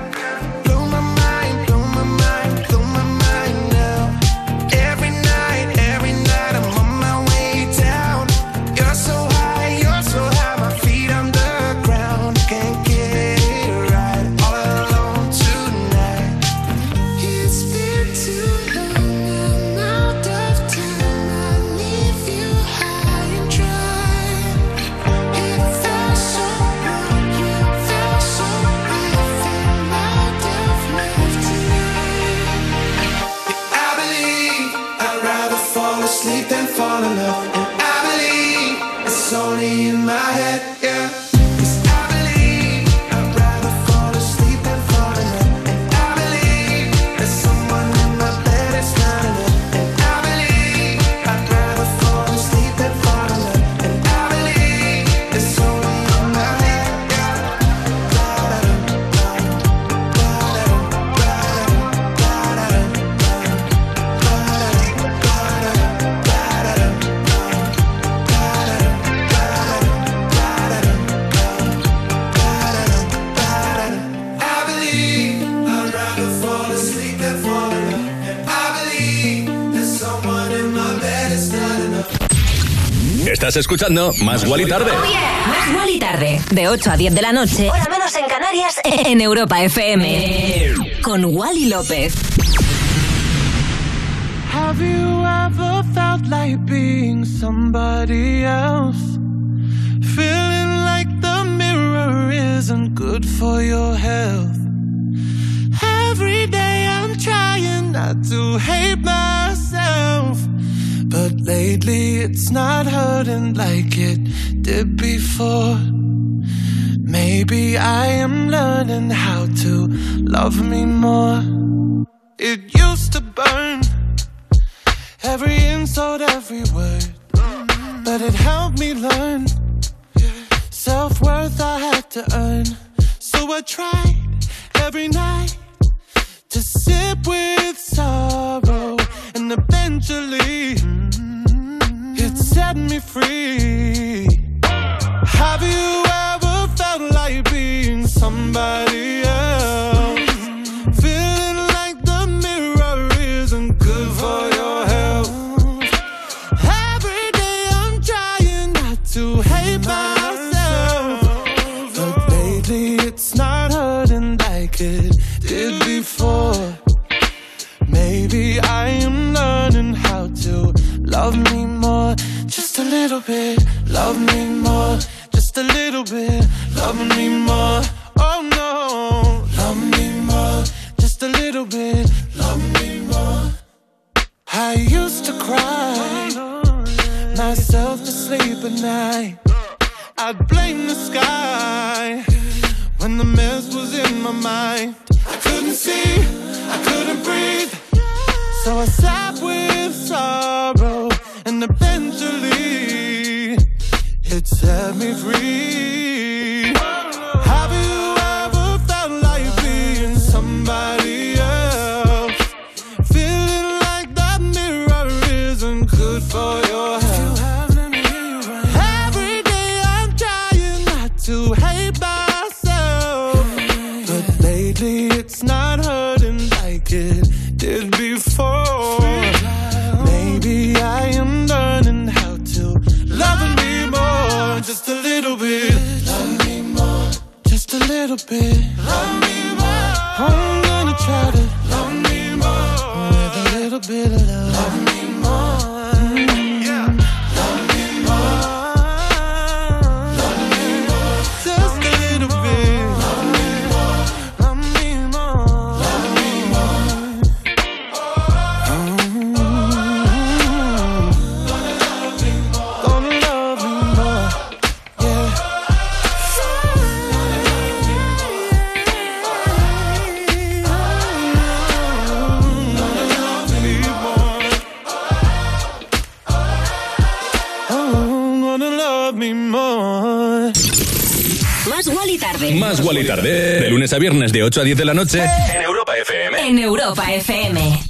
Sleep and fall in love, and I believe it's only in my head, yeah. 'Cause I believe I'd rather fall asleep than fall in love, and I believe there's someone in my bed it's not enough, and I believe I'd rather fall asleep than fall in love, and I believe it's only in my head, Estás escuchando Más Guali Tarde. Oh, yeah. Más Guali Tarde. De ocho a diez de la noche, hora menos en Canarias, en Europa F M. Con Wally López. Have you ever felt like being somebody else? Feeling like the mirror isn't good for your health. Every day I'm trying not to hate myself, but lately it's not hurting like it did before. Maybe I am learning how to love me more. It used to burn, every insult, every word, but it helped me learn self-worth I had to earn. So I tried every night to sip with sorrow, and eventually it set me free. Have you ever felt like being somebody else? Feeling like the mirror isn't good for your health. Every day I'm trying not to hate myself, love me more. Oh no, love me more. Just a little bit, love me more. I used to cry myself to sleep at night. I'd blame the sky when the mess was in my mind. I couldn't see, I couldn't breathe, so I sat with sorrow, and eventually it set me free. Have you ever felt like being somebody else? Feeling like that mirror isn't good for your health. Every day I'm trying not to hate myself, but lately it's not hurting like it did before. Maybe I am learning how to love me more. Just a little bit, love me more. Just a little bit, love me more. I'm gonna try to love me more with a little bit of love. Love me more. Mm. Yeah. Love me more. Love me more. Just a little bit. Love me more. Love me more. Love me more. Mm. Gonna love me more. Gonna love me more. Yeah. Más Wally tarde. Más Wally tarde. De lunes a viernes de ocho a diez de la noche. En Europa F M. En Europa F M.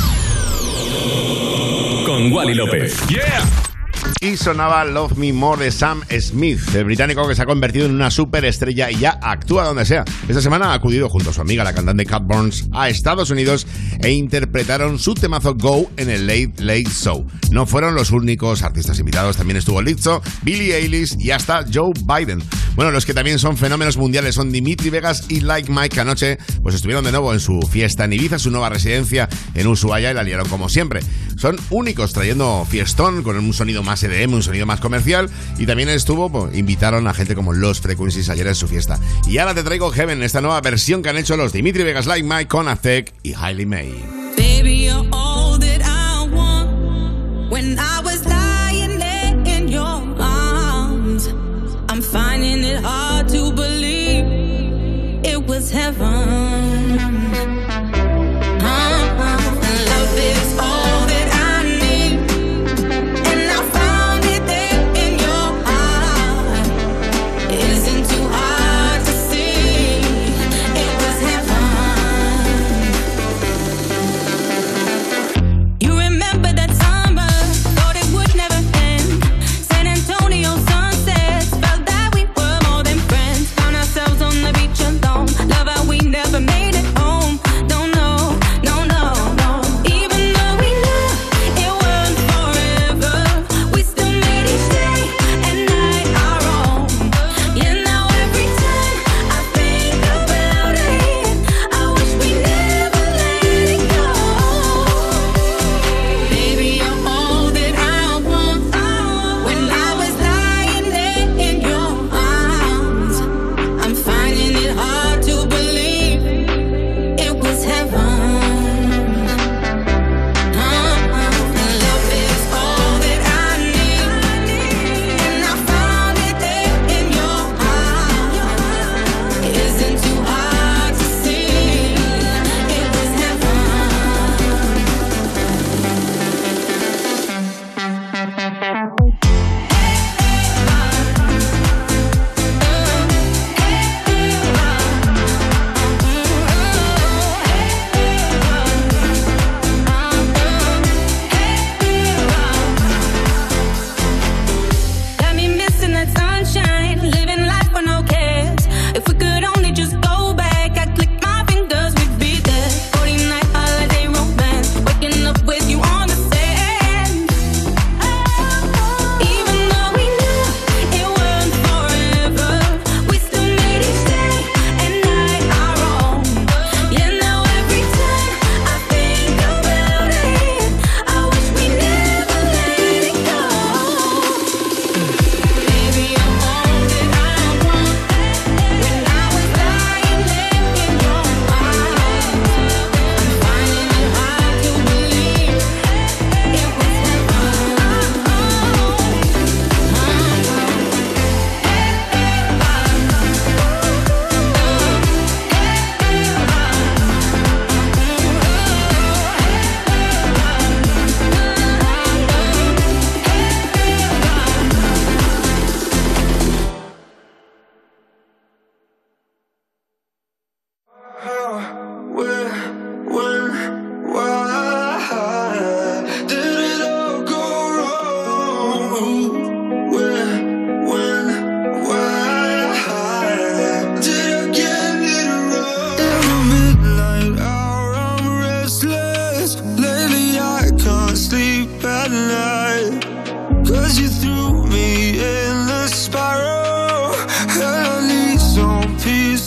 Con Wally López. Yeah. Y sonaba Love Me More de Sam Smith, el británico que se ha convertido en una superestrella y ya actúa donde sea. Esta semana ha acudido junto a su amiga, la cantante Kat Burns, a Estados Unidos e interpretaron su temazo Go en el Late Late Show. No fueron los únicos artistas invitados, también estuvo Lizzo, Billie Eilish y hasta Joe Biden. Bueno, los que también son fenómenos mundiales son Dimitri Vegas y Like Mike, que anoche pues estuvieron de nuevo en su fiesta en Ibiza, su nueva residencia en Ushuaia, y la liaron como siempre. Son únicos trayendo fiestón con un sonido más E D M, un sonido más comercial, y también estuvo, pues, invitaron a gente como Los Frequencies ayer en su fiesta. Y ahora te traigo Heaven, esta nueva versión que han hecho los Dimitri Vegas, Like Mike, con Azek y Hailey May. Baby, you're all that I want. When I was lying there in your arms, I'm finding it hard to believe it was heaven. Uh-huh. Love is all that I need, and I found it there in your heart. It isn't too hard to see, it was heaven.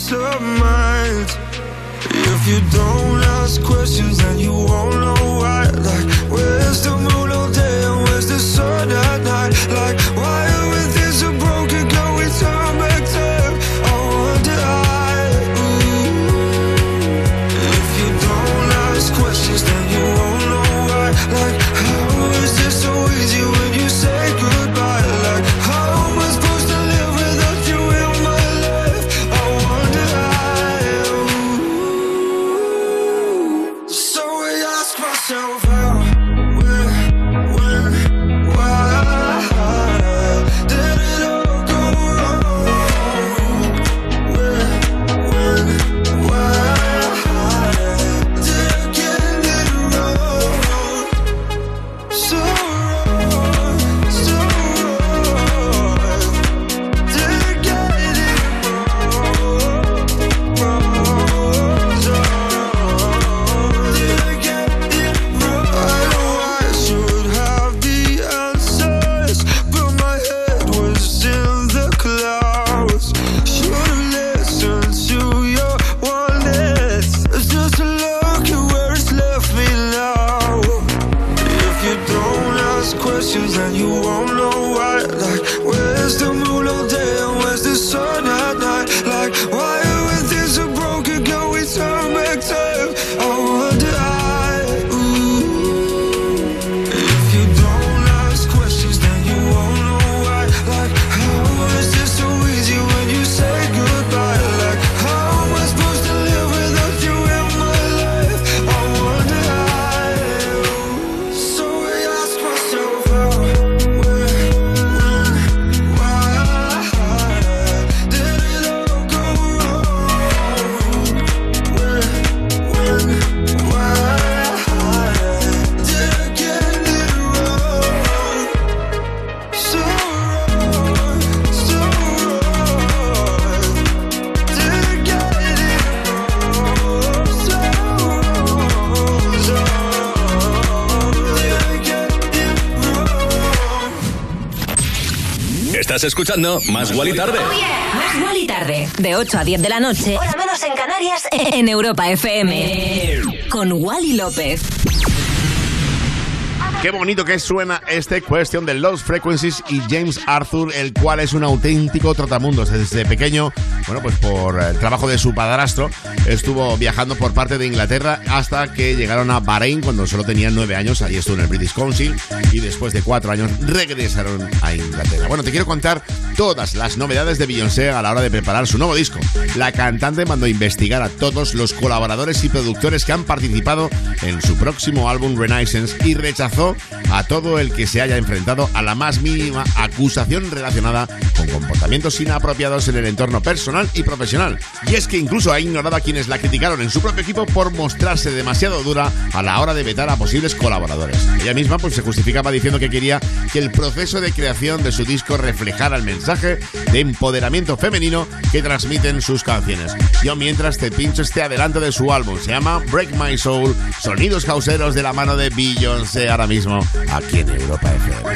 peace of mind. If you don't ask questions, then you won't know why. Like, where's the moon all day and where's the sun at night? Like, why are we things so broken? Can we turn back time? I wonder I. Ooh. If you don't ask questions, then you won't know why. Like, how is this so easy when you say goodbye? Like, how am I supposed to live without you in my life? I wonder I. So I ask myself how, where, when, why did it all go wrong? Where, when, why did I get it wrong? So wrong, so wrong. Did I get it wrong? Wrong, so did I get it wrong? I know I should have the answers, but my head was in the clouds. Should have listened to your warnings, just to look at where it's left me now. If you don't ask questions, then you won't know why. Like, where's the moon all day and where's the sun at night? Like, why are we things so broken? Can we turn back time? I wonder I. Ooh. If you don't ask questions, then you won't know why. Like, how is this so easy when you say goodbye? Like, how am I supposed to live without you in my life? I wonder I. So I ask myself how, where, when, why did it all go wrong? Where, when, why did I get it wrong? So wrong, so wrong. Did I get it wrong? So wrong, so did I get it wrong? Estás escuchando Más Guali Tarde. Más Guali Tarde, de ocho a diez de la noche, hora menos en Canarias, en Europa F M. Con Wally López. Qué bonito que suena este Question de Lost Frequencies y James Arthur, el cual es un auténtico trotamundos. Desde pequeño, bueno, pues por el trabajo de su padrastro, estuvo viajando por parte de Inglaterra hasta que llegaron a Bahrein cuando solo tenía nueve años. Allí estuvo en el British Council y después de cuatro años regresaron a Inglaterra. Bueno, te quiero contar todas las novedades de Beyoncé a la hora de preparar su nuevo disco. La cantante mandó investigar a todos los colaboradores y productores que han participado en su próximo álbum Renaissance y rechazó a todo el que se haya enfrentado a la más mínima acusación relacionada con comportamientos inapropiados en el entorno personal y profesional. Y es que incluso ha ignorado a quienes la criticaron en su propio equipo por mostrarse demasiado dura a la hora de vetar a posibles colaboradores. Ella misma pues se justificaba diciendo que quería que el proceso de creación de su disco reflejara el mensaje de empoderamiento femenino que transmiten sus canciones. Yo mientras te pincho este adelanto de su álbum, se llama Break My Soul, sonidos houseeros de la mano de Beyoncé ahora mismo aquí en Europa F M.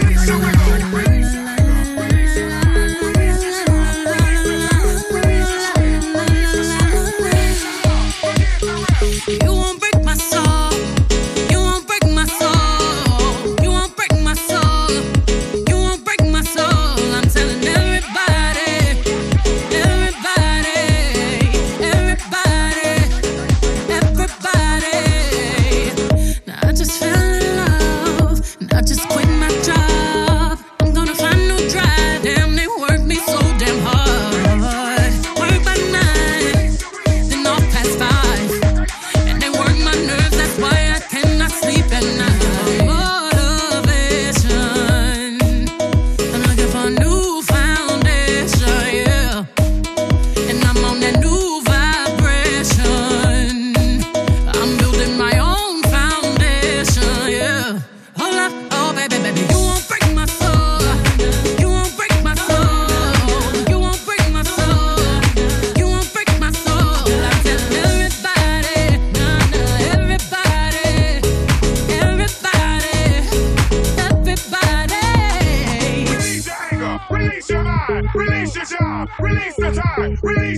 I just quit my job. I'm gonna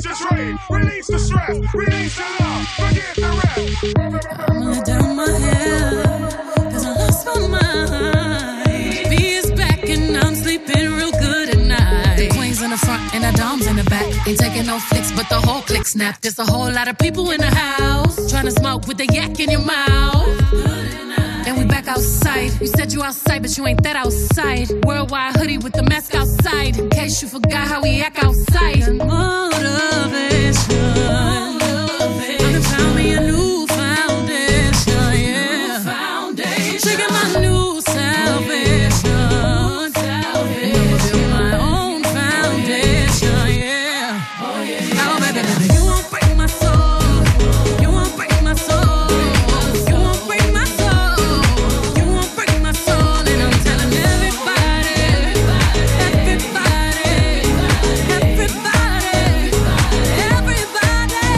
release your trade, release the stress, release the love, forget the rest. I'm gonna down my head, cause I lost my mind. B is back and I'm sleeping real good at night. The queen's in the front and the dom's in the back. Ain't taking no flicks, but the whole click snap. There's a whole lot of people in the house trying to smoke with the yak in your mouth. And we back outside. You said you outside, but you ain't that outside. Worldwide hoodie with the mask outside. In case you forgot how we act outside. Motivation. I done found me a new foundation, yeah. Foundation. Taking my new salvation. And I'ma build my own foundation, yeah. Oh, baby, baby, you won't break my soul. You won't break my soul. You won't break my soul. You won't break my soul. And I'm telling everybody, everybody, everybody, everybody,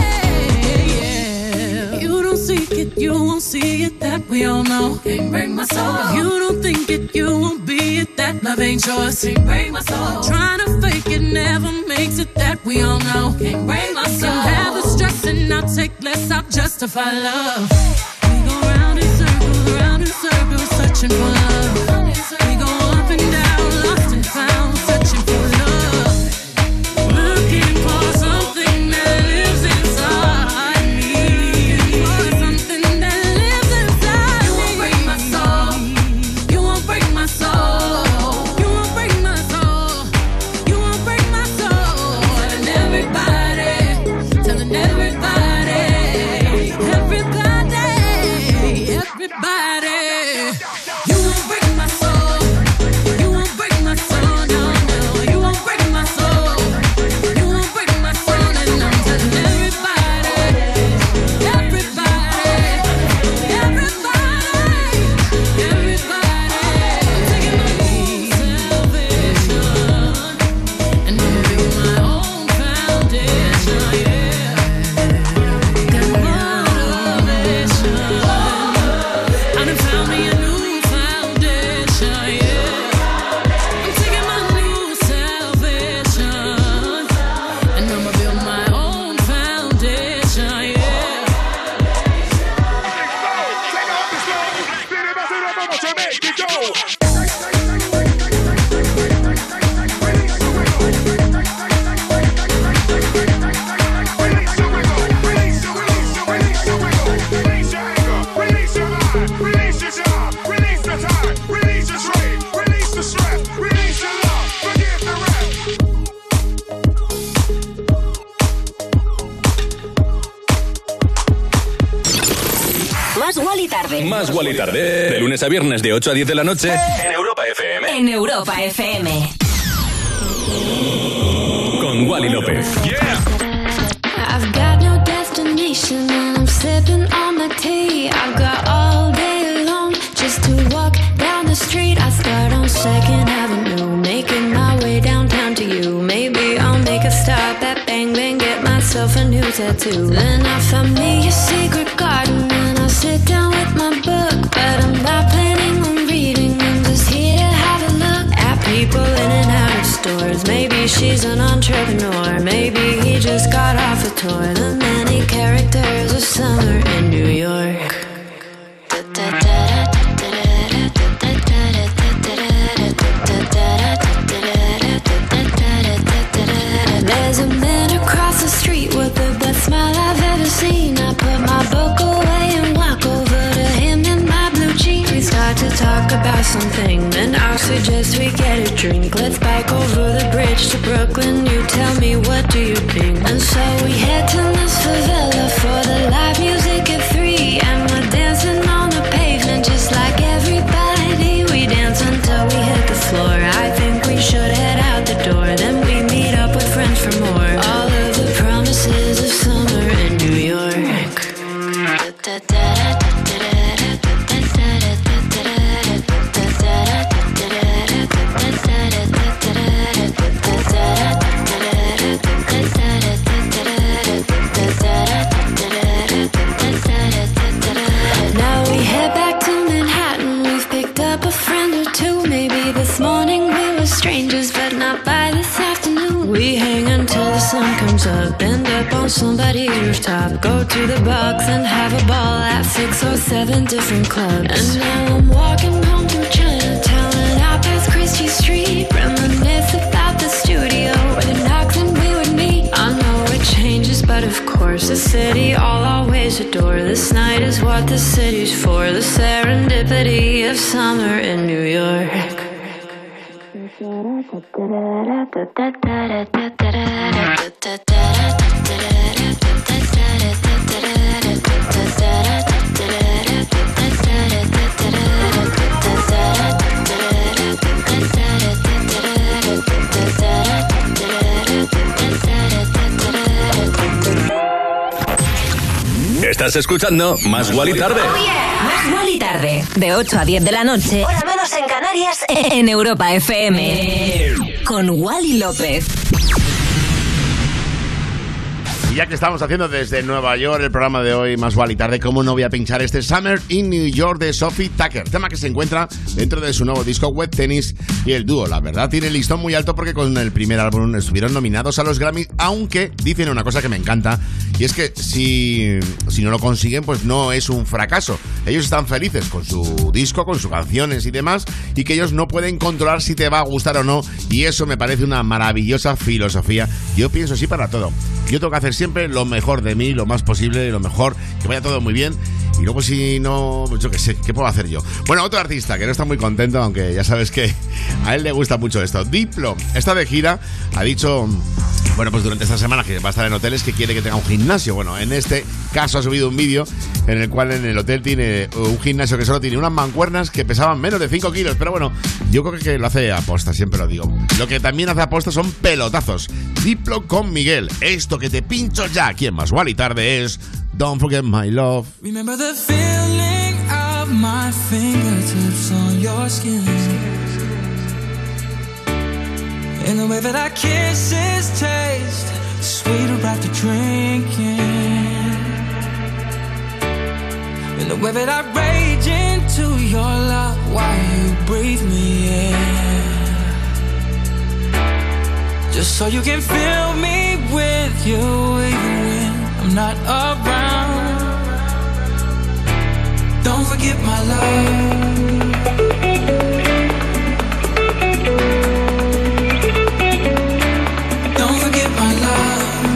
yeah. You don't seek it, you won't see it, that we all know. Can't break my soul. If you don't think it, you won't be it, that love ain't yours. Can't break my soul. Trying to fake it never makes it, that we all know. Can't break my soul. You have the stress and I'll take less, I'll justify love. We go round in circles, round in circles, searching for love. We go up and down, lost and found, searching for love. Looking for something that lives inside me. For something that lives inside me. You won't break my soul. You won't break my soul. You won't break my soul. You won't break my soul. Telling everybody, telling everybody, everybody, everybody. You won't break my soul. You won't break my soul. No, no. You won't break my soul. You won't break my soul. And I'm telling everybody, everybody, everybody, everybody. Taking my own salvation. And I'm building my own foundation, yeah. Got motivation. I done found me a new foundation, yeah. I'm taking my new salvation. And I'ma build my own foundation, yeah. Release your anger, release your mind, release your job, release the time, release your trade, release the stress, release your love, forget the rest. Más Wally tarde. Más Wally tarde. De lunes a viernes de ocho a diez de la noche en Europa F M. En Europa F M. Con Wally López. I've got no destination and I'm sipping on the tea. I've got all day long just to walk down the street. I start on Second Avenue, making my way downtown to you. Maybe I'll make a stop at Bang Bang, get myself a new tattoo. Then I find me a secret garden and I sit down with my book. But I'm not planning on reading, I'm just here to have a look at people in and out of stores. Maybe she's an entrepreneur, maybe he just got off a tour. The many characters of summer in New York. There's a man across the street with the best smile I've ever seen. I put my book away and walk over to him in my blue jeans. We start to talk about something, then I'll suggest we get a drink. Let's bike over the bridge to Brooklyn. You tell me, what do you think? And so we head to Miss Favela for the live music at three. And we're dancing on the pavement just like everybody. We dance until we hit the floor. I think we should head out the door. Then we meet up with friends for more. All of the promises of summer in New York. up on somebody's rooftop. Go to the box and have a ball at six or seven different clubs. And now I'm walking home through Chinatown and out past Christie Street. Reminisce about the studio where the knocks and we would meet. I know it changes, but of course the city I'll always adore. This night is what the city's for. The serendipity of summer in New York. Estás escuchando Más Guali Tarde. Oh yeah. Más Guali Tarde. De ocho a diez de la noche. Hora menos en Canarias. En Europa F M. Con Wally López. Y ya que estamos haciendo desde Nueva York el programa de hoy, Más Guali Tarde, ¿cómo no voy a pinchar este Summer in New York de Sophie Tucker? Tema que se encuentra dentro de su nuevo disco Wet Tennis, y el dúo, la verdad, tiene el listón muy alto porque con el primer álbum estuvieron nominados a los Grammy, aunque dicen una cosa que me encanta, y es que si, si no lo consiguen, pues no es un fracaso. Ellos están felices con su disco, con sus canciones y demás, y que ellos no pueden controlar si te va a gustar o no, y eso me parece una maravillosa filosofía. Yo pienso así para todo. Yo tengo que hacer siempre lo mejor de mí, lo más posible, lo mejor, que vaya todo muy bien. Y luego si no, pues yo qué sé, ¿qué puedo hacer yo? Bueno, otro artista que no está muy contento, aunque ya sabes que a él le gusta mucho esto. Diplo está de gira, ha dicho, bueno, pues durante esta semana que va a estar en hoteles, que quiere que tenga un gimnasio. Bueno, en este caso ha subido un vídeo en el cual en el hotel tiene un gimnasio que solo tiene unas mancuernas que pesaban menos de cinco kilos. Pero bueno, yo creo que lo hace aposta, siempre lo digo. Lo que también hace aposta son pelotazos. Diplo con Miguel. Esto que te pincho ya aquí en Más Guali Tarde es Don't Forget My Love. Remember the feeling of my fingertips on your skin, and the way that our kisses taste sweeter after drinking, and the way that I rage into your love while you breathe me in, just so you can fill me with you even when I'm not around. Don't forget my love. Don't forget my love.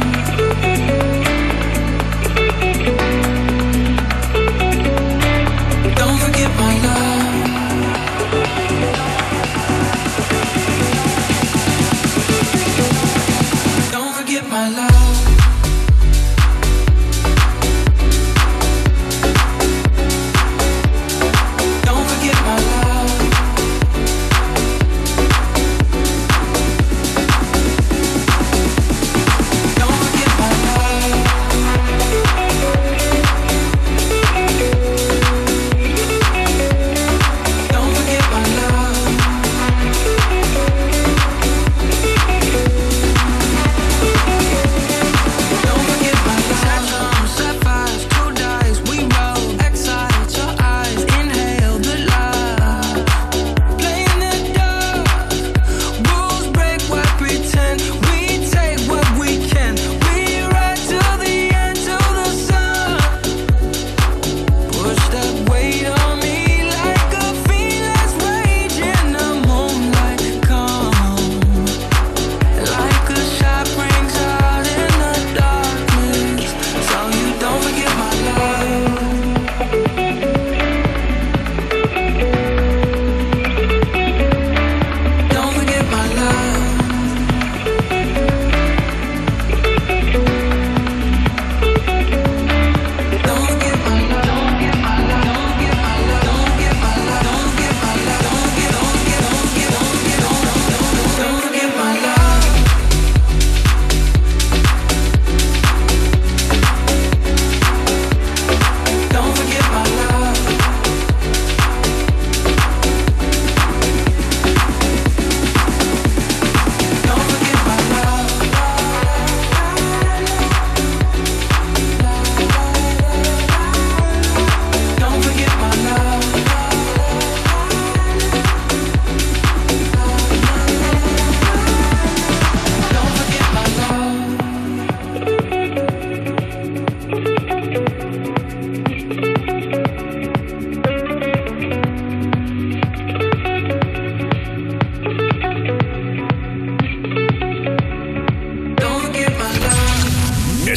Don't forget my love. Don't forget my love.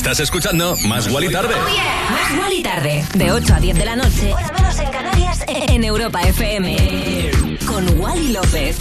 Estás escuchando Más Guali Tarde. Oh yeah. Más Guali Tarde. De ocho a diez de la noche. Hora menos en Canarias. En Europa F M. Con Wally López.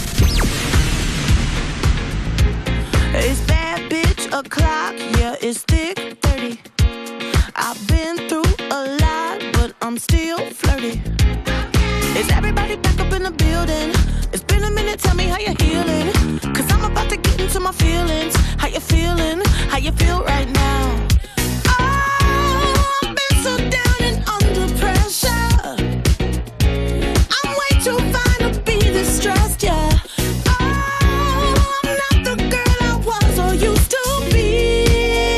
It's bad bitch o'clock. Yeah, it's thick thirty. I've been through a lot, but I'm still flirty. Is everybody back up in the building? It's been a minute, tell me how you're healing. Cause I'm about to get into my feelings. How you feeling? How you feel right now? Oh, I've been so down and under pressure. I'm way too fine to be this stressed, yeah. Oh, I'm not the girl I was or used to be.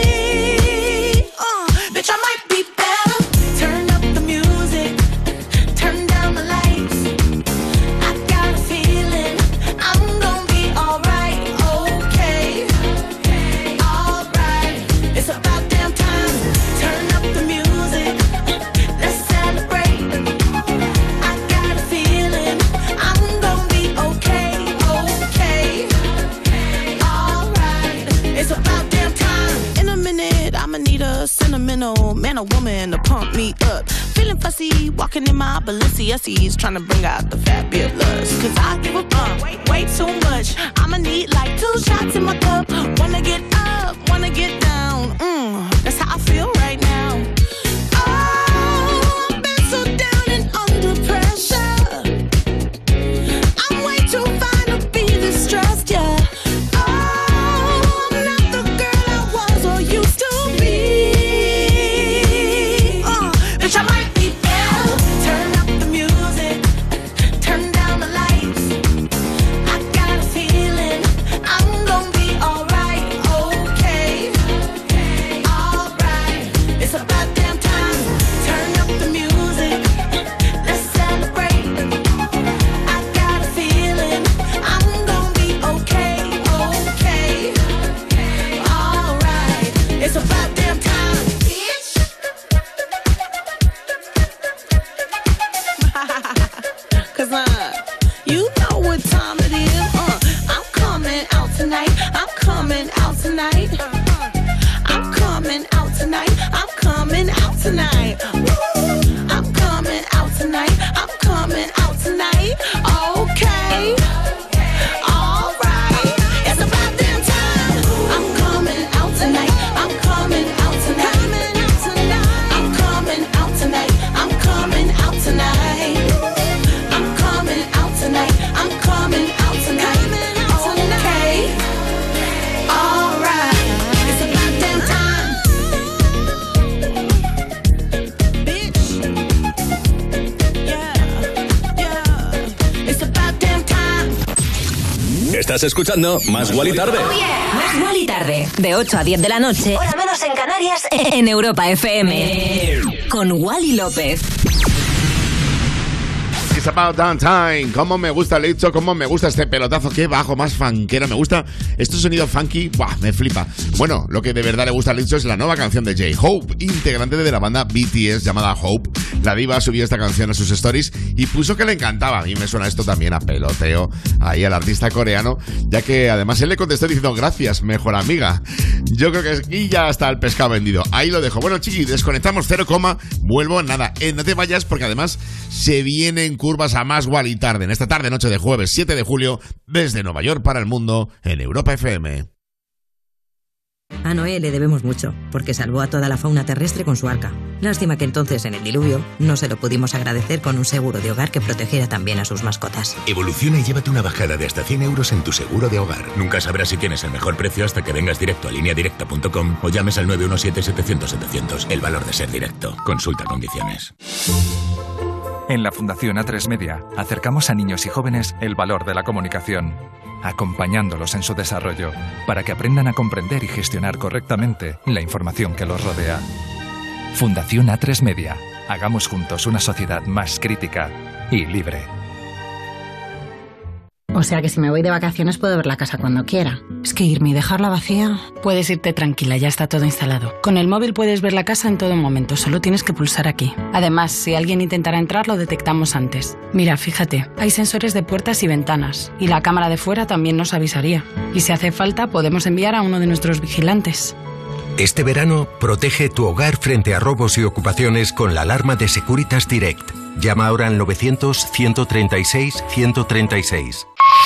Uh, bitch, I might be better. Turn up the music. Turn down the lights. I got a feeling I'm gonna be alright, okay. Alright, it's about damn time. Turn up the music. Let's celebrate. I got a feeling I'm gonna be okay, okay. Alright, it's about damn time. In a minute, I'ma need a sentimental man or woman to pump me up. Feeling fussy, walking in my Balenciennes, trying to bring out the fabulous. Cause I give a fuck, way, way too much. I'ma need like two shots in my cup. Wanna get up, wanna get down. Mm, that's how I feel right now. Oh, I've been so down and under pressure. I'm way too fine to be this stressed, yeah. Oh, I'm not the girl I was or used to be. Uh, bitch, I might be better. Turn up the music. Turn down the lights. I got a feeling I'm gonna be alright, okay. Alright, it's about damn time. Turn up the music. Let's celebrate. I got a feeling I'm gonna be okay, okay. Alright, it's about damn time, bitch. Cause uh, you know what time it is. Uh, I'm coming out tonight. I'm coming out tonight. I'm coming out tonight. I'm coming out tonight. Woo! I'm coming out tonight. I'm coming out tonight. Okay. Alright. It's about damn time. I'm coming out tonight. I'm coming out tonight. I'm coming out tonight. I'm coming out tonight. I'm coming out tonight. I'm coming out tonight. Okay. Alright. It's about damn time. Bitch. Yeah. Yeah. It's about damn time. Estás escuchando Más Guali Tarde. Oh yeah. Más Guali Tarde. De ocho a diez de la noche. Hora menos en Canarias. En Europa F M. Con Wally López. It's about damn time. Cómo me gusta el hecho, cómo me gusta este pelotazo, qué bajo, más funkero. Me gusta este sonido funky, ¡buah! Me flipa. Bueno, lo que de verdad le gusta al hecho es la nueva canción de J-Hope, integrante de la banda B T S llamada Hope. La diva subió esta canción a sus stories y puso que le encantaba. Y me suena esto también a peloteo ahí al artista coreano, ya que además él le contestó diciendo gracias, mejor amiga. Yo creo que aquí ya está el pescado vendido. Ahí lo dejo. Bueno, chiqui, desconectamos cero coma. Vuelvo, nada, eh, no te vayas porque además se vienen curvas a Más Guali Tarde en esta tarde noche de jueves siete de julio desde Nueva York para el mundo en Europa F M. A Noé le debemos mucho, porque salvó a toda la fauna terrestre con su arca. Lástima que entonces, en el diluvio, no se lo pudimos agradecer con un seguro de hogar que protegiera también a sus mascotas. Evoluciona y llévate una bajada de hasta cien euros en tu seguro de hogar. Nunca sabrás si tienes el mejor precio hasta que vengas directo a línea directa punto com o llames al nueve uno siete, setecientos, setecientos. El valor de ser directo. Consulta condiciones. En la Fundación A tres Media acercamos a niños y jóvenes el valor de la comunicación, acompañándolos en su desarrollo para que aprendan a comprender y gestionar correctamente la información que los rodea. Fundación A tres Media. Hagamos juntos una sociedad más crítica y libre. O sea que si me voy de vacaciones puedo ver la casa cuando quiera. Es que irme y dejarla vacía... Puedes irte tranquila, ya está todo instalado. Con el móvil puedes ver la casa en todo momento, solo tienes que pulsar aquí. Además, si alguien intentara entrar, lo detectamos antes. Mira, fíjate, hay sensores de puertas y ventanas. Y la cámara de fuera también nos avisaría. Y si hace falta, podemos enviar a uno de nuestros vigilantes. Este verano, protege tu hogar frente a robos y ocupaciones con la alarma de Securitas Direct. Llama ahora al novecientos, ciento treinta y seis, ciento treinta y seis.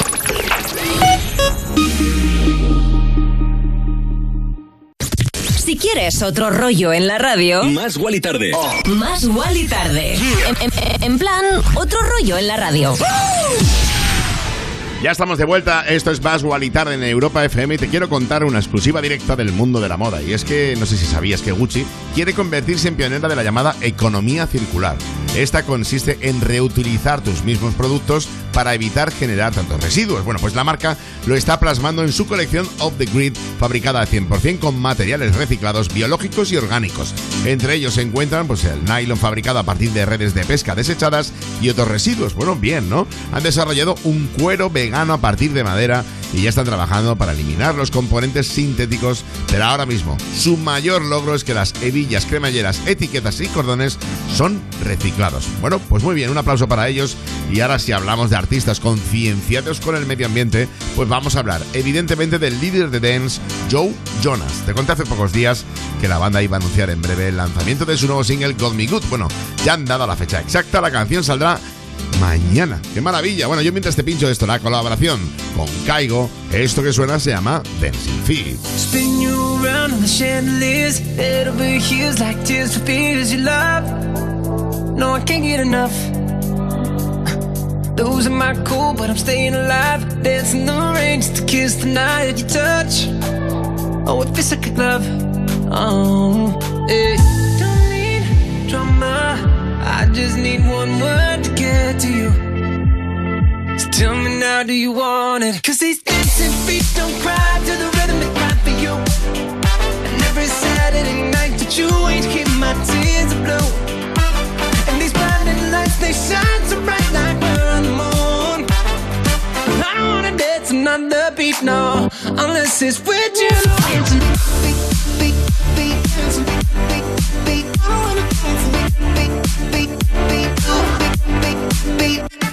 Si quieres otro rollo en la radio, Más Wally Tarde. Oh. Más Wally Tarde. En, en, en plan, otro rollo en la radio. Ya estamos de vuelta, esto es Más Wally Tarde en Europa F M y te quiero contar una exclusiva directa del mundo de la moda. Y es que, no sé si sabías que Gucci quiere convertirse en pionera de la llamada economía circular. Esta consiste en reutilizar tus mismos productos para evitar generar tantos residuos. Bueno, pues la marca lo está plasmando en su colección Off the Grid, fabricada al cien por ciento con materiales reciclados, biológicos y orgánicos. Entre ellos se encuentran pues el nylon fabricado a partir de redes de pesca desechadas y otros residuos. Bueno, bien, ¿no? Han desarrollado un cuero vegano a partir de madera y ya están trabajando para eliminar los componentes sintéticos, pero ahora mismo su mayor logro es que las hebillas, cremalleras, etiquetas y cordones son reciclados. Bueno, pues muy bien, un aplauso para ellos. Y ahora, si hablamos de artistas concienciados con el medio ambiente, pues vamos a hablar evidentemente del líder de dance, Joe Jonas. Te conté hace pocos días que la banda iba a anunciar en breve el lanzamiento de su nuevo single Got Me Good. Bueno, ya han dado la fecha exacta, la canción saldrá mañana. ¡Qué maravilla! Bueno, yo mientras te pincho esto, la colaboración con Kygo, esto que suena se llama Dancing Feet. Spin you around on the chandeliers, head over heels like tears for fears you love. No, I can't get enough. Losing my cool, but I'm staying alive. Dancing the rain just to kiss the night you touch. Oh, it feels like a glove. Oh, hey. Don't need drama. I just need one word to get to you. So tell me now, do you want it? Cause these dancing feet don't cry to the rhythm they cry for you. And every Saturday night that you ain't keep my tears are blue. And these blinding lights, they shine so bright like we're on the moon. I don't wanna dance another beat, no, unless it's with you. Dancing beat, beat, beat, dancing beat, beat, beat. I don't wanna dance beat, beat, beat, beat, beat, beat, beat.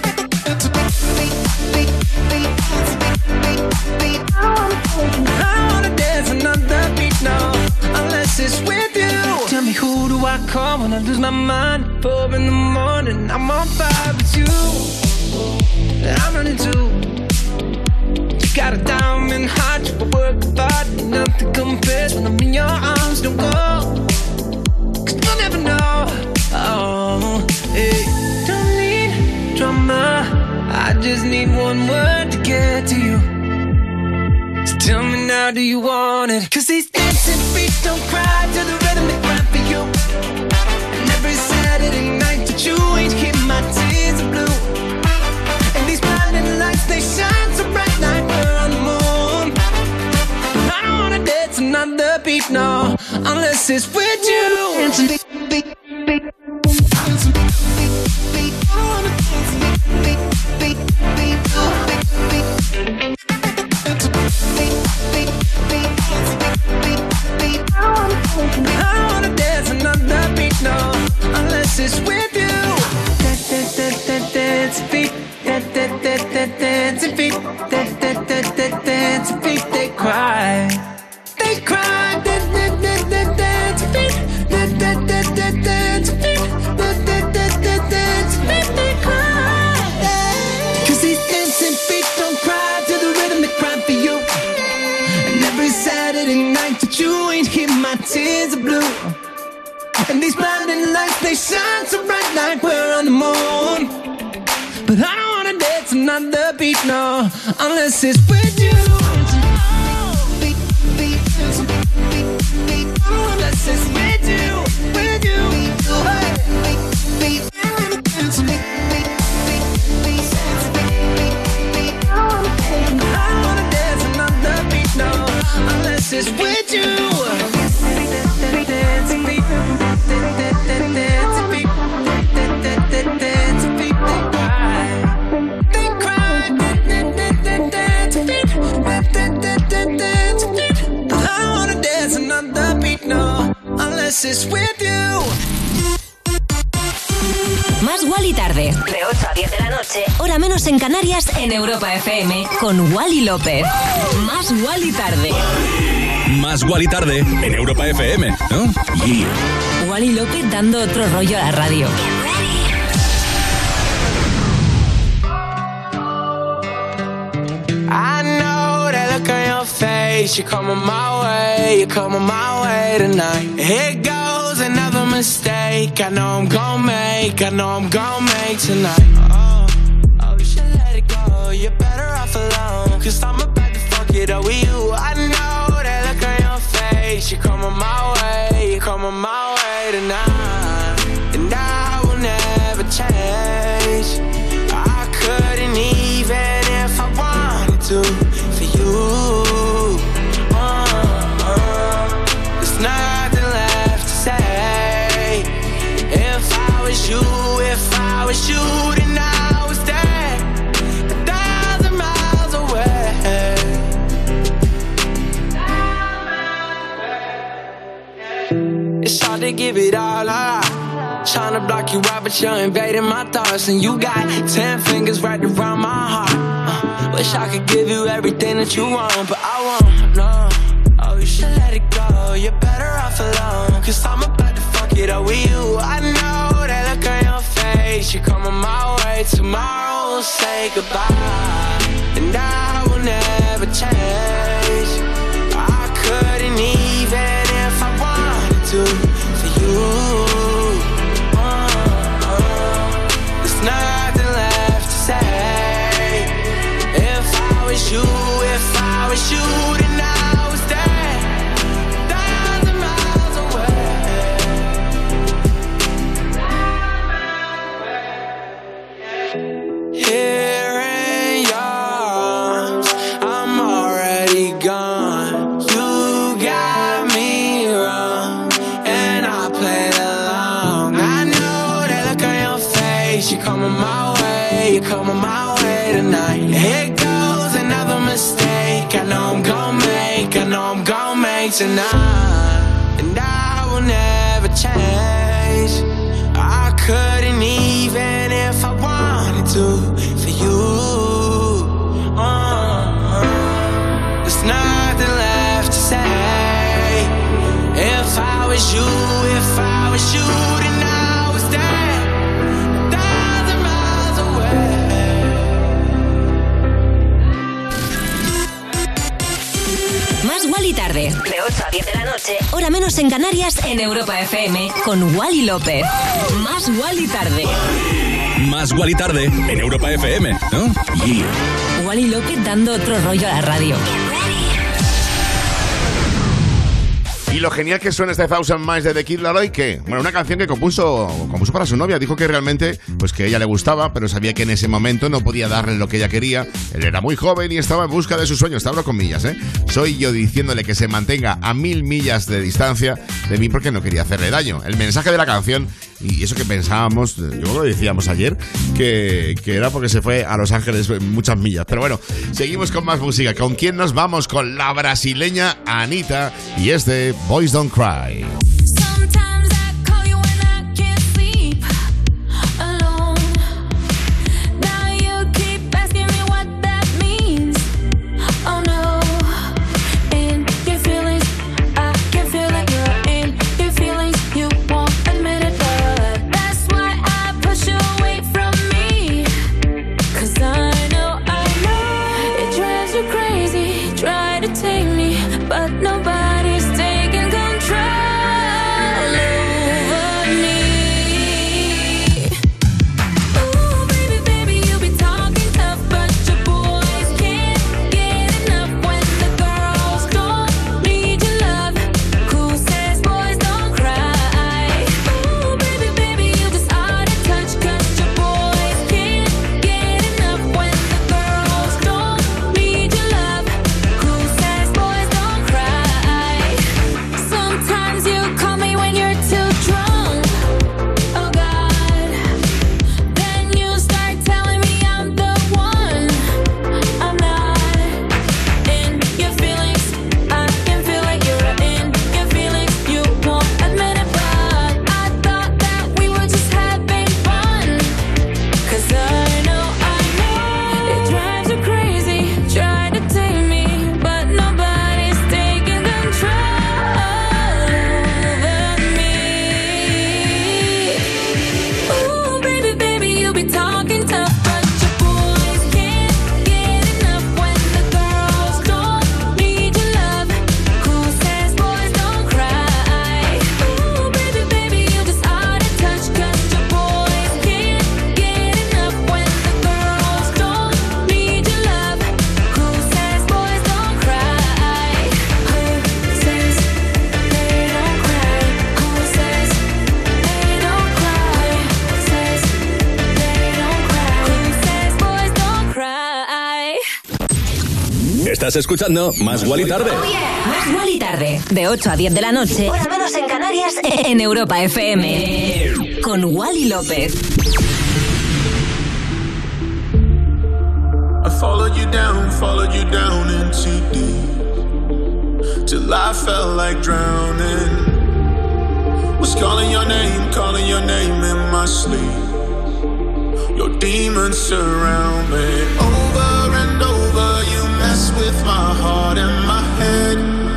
I don't wanna dance another beat, no, unless it's with you. Tell me, who do I call when I lose my mind? Four in the morning, I'm on fire with you. I'm running too. You got a diamond heart, you work hard, nothing compares when I'm in your arms. Don't go, cause you'll never know. Oh, hey. Don't need drama, I just need one word to get to you. So tell me now, do you want it? Cause these dancing feet don't cry to the rhythm they cry for you. And every Saturday night that you ain't keep my tears are blue. And these blinding lights, they shine so bright like we're on the moon. I don't wanna dance another beat, no, unless it's with you. Dancing beat, beat, beat. Dancing beat, beat, beat. I don't wanna dance beat, beat, beat, beat, beat, beat. I don't wanna dance another beat, no, unless it's with you. Dance feet, dance feet, dance feet. They cry, they cry. Dance feet, dance feet, dance feet. They cry. 'Cause these dancing feet don't cry to the rhythm they cry for you. And every Saturday night that you ain't here, my tears are blue. And these blinding lights, they shine so bright like we're on the moon. But I don't wanna dance another beat, no, unless it's with you. Beat, beat, beat, beat, unless it's with you, with you. Hey. Beat, beat, beat, beat, beat, beat. I don't wanna dance another beat, no, unless it's with you. Dancing beat, dancing beat, dancing beat, they cry, they cry, dancing beat, dancing beat. I don't wanna dance another beat, no, unless it's with you. Más Wally Tarde, de ocho a diez de la noche, hora menos en Canarias, en Europa F M, con Wally López. Más Wally Tarde. Más Wally tarde en Europa F M, ¿no? Yeah. Wally López dando otro rollo a la radio. I know that look on your face. You're coming my way, you're coming my way tonight. Here goes another mistake. I know I'm gonna make, I know I'm gonna make tonight. Oh, oh, you should let it go. You're better off alone. Cause I'm about to fuck it up with you. I know that look on your face. You're coming my way, you're coming my way tonight. And I will never change. I couldn't even if I wanted to for you. Uh, uh, there's nothing left to say. If I was you, if I was you, then I was there, a thousand miles away. It's hard to give it all up. Trying to block you out, but you're invading my thoughts. And you got ten fingers right around my heart. uh, Wish I could give you everything that you want, but I won't, no. Oh, you should let it go. You're better off alone. Cause I'm about to fuck it up with you. I know that look on your face. You're coming my way. Tomorrow we'll say goodbye. And I will never change. I couldn't even if I wanted to for you. Nothing left to say. If I was you, if I was you, then I was there, a thousand miles away. Here in your arms, I'm already gone. You got me wrong, and I played along. I know that look on your face. You're coming my way, you're coming my way tonight. Here goes another mistake. I know I'm gonna make, I know I'm gonna make tonight. And I will never change. I couldn't even if I wanted to for you. uh, There's nothing left to say. If I was you, if I was you, then I was there. Más Wally tarde, de ocho a diez de la noche, hora menos en Canarias, en Europa F M, con Wally López. Más Wally tarde. Más Wally tarde en Europa F M, ¿no? Yeah. Wally López dando otro rollo a la radio. Y lo genial que suena este Thousand Miles de The Kid Laroi, que, bueno, una canción que compuso, compuso para su novia. Dijo que realmente, pues que a ella le gustaba, pero sabía que en ese momento no podía darle lo que ella quería. Él era muy joven y estaba en busca de sus sueños. Te hablo con millas, ¿eh? Soy yo diciéndole que se mantenga a mil millas de distancia de mí porque no quería hacerle daño. El mensaje de la canción, y eso que pensábamos, yo creo que lo decíamos ayer, que, que era porque se fue a Los Ángeles muchas millas. Pero bueno, seguimos con más música. ¿Con quién nos vamos? Con la brasileña Anitta y este Boys Don't Cry. Try to take me, but nobody's taking control. Estás escuchando Más Guali Tarde. Oh, yeah. Más Guali Tarde, de ocho a diez de la noche, hora menos en Canarias, en Europa F M. Con Wally López. I followed you down, followed you down into deep, till I felt like drowning. Was calling your name, calling your name in my sleep. Your demons surround me. Over and over you mess with my heart and my head.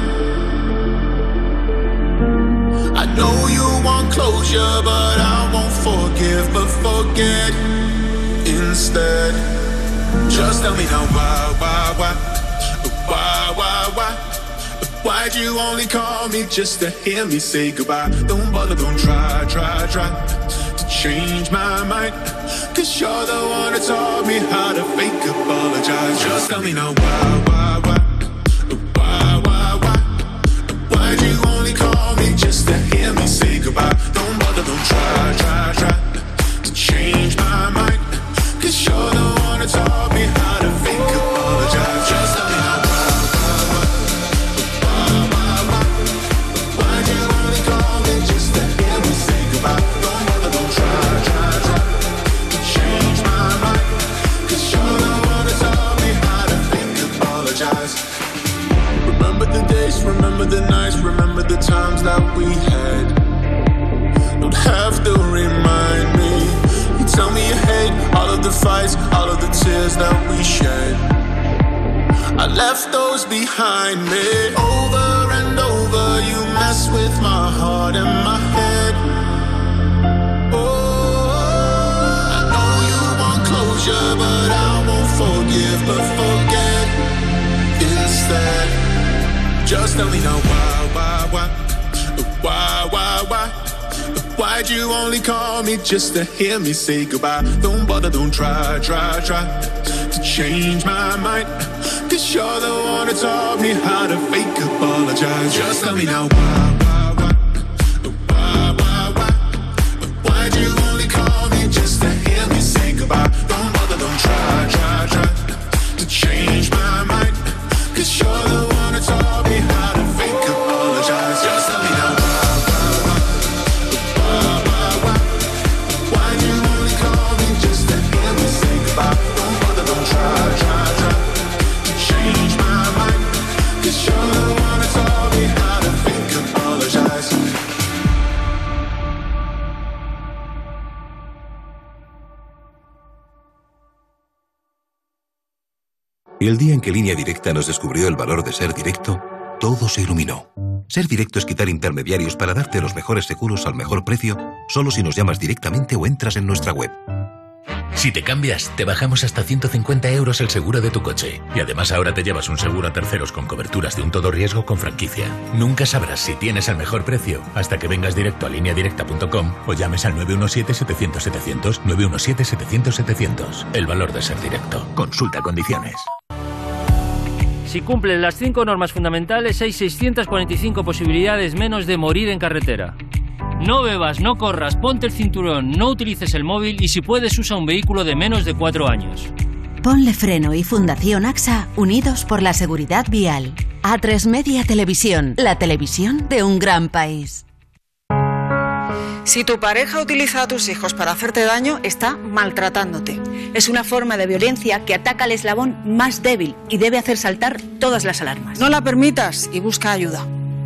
I know you want closure, but I won't forgive, but forget instead. Just tell me now why, why, why, why, why, why? Why'd you only call me just to hear me say goodbye? Don't bother, don't try, try, try to change my mind, 'cause you're the one that taught me how to fake apologize. Just tell me now why, why, why, why, why, why? Why'd you only call me just to hear me say goodbye? Don't bother, don't try, try, try to change my mind, 'cause you're the one that taught me how to fake apologize. Just tell me now why. Remember the days, remember the nights, remember the times that we had. Don't have to remind me. You tell me you hate all of the fights, all of the tears that we shed. I left those behind me. Over and over you mess with my heart and my head. Oh, I know you want closure, but I won't forgive, but forget instead. Just tell me now why, why, why, why, why, why? Why'd you only call me just to hear me say goodbye? Don't bother, don't try, try, try to change my mind, 'cause you're the one that taught me how to fake apologize. Just tell me now why, why, why, why, why, why? Why'd you only call me just to hear me say goodbye? Don't bother, don't try, try, try to change my mind, 'cause you're the one that taught me how to fake apologize. Just tell me now why, why, why, why, why, why? Why'd you only call me just to hear me say goodbye? Don't bother, don't try, try, try to change my mind, 'cause you're the one that taught me how to fake apologize. Y el día en que Línea Directa nos descubrió el valor de ser directo, todo se iluminó. Ser directo es quitar intermediarios para darte los mejores seguros al mejor precio, solo si nos llamas directamente o entras en nuestra web. Si te cambias, te bajamos hasta ciento cincuenta euros el seguro de tu coche. Y además ahora te llevas un seguro a terceros con coberturas de un todo riesgo con franquicia. Nunca sabrás si tienes el mejor precio hasta que vengas directo a línea directa punto com o llames al nueve uno siete, setecientos, setecientos, nueve uno siete, setecientos, setecientos. El valor de ser directo. Consulta condiciones. Si cumples las cinco normas fundamentales, hay seiscientas cuarenta y cinco posibilidades menos de morir en carretera. No bebas, no corras, ponte el cinturón, no utilices el móvil y si puedes usa un vehículo de menos de cuatro años. Ponle Freno y Fundación A X A, unidos por la seguridad vial. A tres Media Televisión, la televisión de un gran país. Si tu pareja utiliza a tus hijos para hacerte daño, está maltratándote. Es una forma de violencia que ataca al eslabón más débil y debe hacer saltar todas las alarmas. No la permitas y busca ayuda.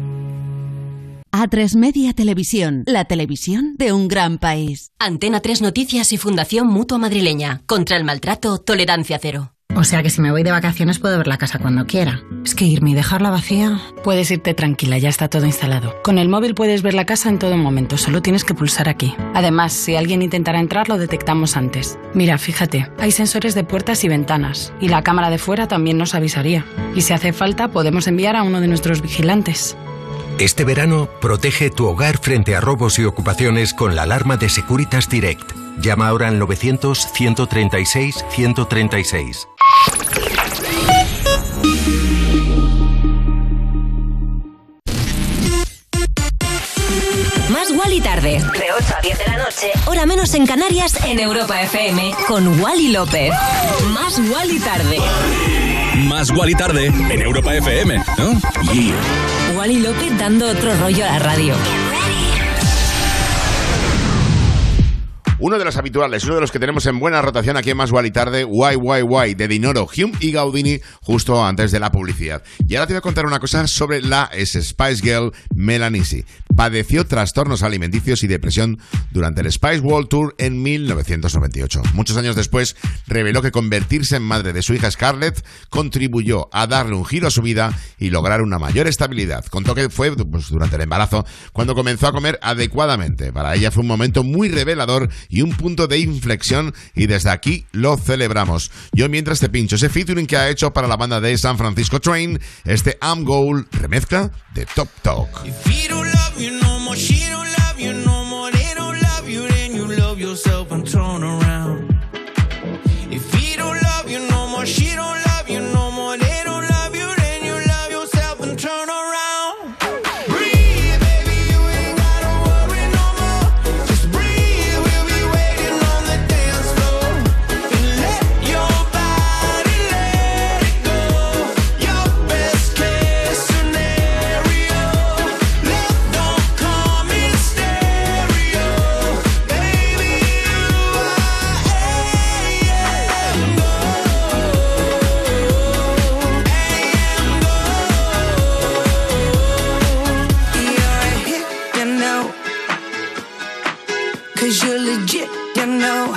A tres Media Televisión, la televisión de un gran país. Antena tres Noticias y Fundación Mutua Madrileña. Contra el maltrato, tolerancia cero. O sea que si me voy de vacaciones puedo ver la casa cuando quiera. Es que irme y dejarla vacía... Puedes irte tranquila, ya está todo instalado. Con el móvil puedes ver la casa en todo momento, solo tienes que pulsar aquí. Además, si alguien intentara entrar, lo detectamos antes. Mira, fíjate, hay sensores de puertas y ventanas. Y la cámara de fuera también nos avisaría. Y si hace falta, podemos enviar a uno de nuestros vigilantes. Este verano, protege tu hogar frente a robos y ocupaciones con la alarma de Securitas Direct. Llama ahora al novecientos, ciento treinta y seis, ciento treinta y seis. Más Wally Tarde, de ocho a diez de la noche, hora menos en Canarias, en Europa F M, con Wally López. Más Wally Tarde. Más Wally tarde en Europa F M, ¿no? Yeah. Wally López dando otro rollo a la radio. Uno de los habituales, uno de los que tenemos en buena rotación aquí en Más Wally Tarde, Why Why Why, de Dinoro, Hume y Gaudini, justo antes de la publicidad. Y ahora te voy a contar una cosa sobre la Spice Girl Melanie C. Padeció trastornos alimenticios y depresión durante el Spice World Tour en mil novecientos noventa y ocho. Muchos años después, reveló que convertirse en madre de su hija Scarlett contribuyó a darle un giro a su vida y lograr una mayor estabilidad. Contó que fue pues, durante el embarazo cuando comenzó a comer adecuadamente. Para ella fue un momento muy revelador y un punto de inflexión, y desde aquí lo celebramos. Yo mientras te pincho ese featuring que ha hecho para la banda de San Francisco Train, este I'm Gold remezcla de Top Talk. You no more, she don't love you no more, they don't love you, then you love yourself and turn around. If he don't love you no more, she don't love you no more, they don't love you, then you love yourself and turn around. Breathe, baby, you ain't gotta worry no more. Just breathe, we'll be waiting on the dance floor. And let your body let it go. Your best case scenario. Love don't come in stereo. Baby, you are A M You're a hit, you know. Cause you're legit, you know.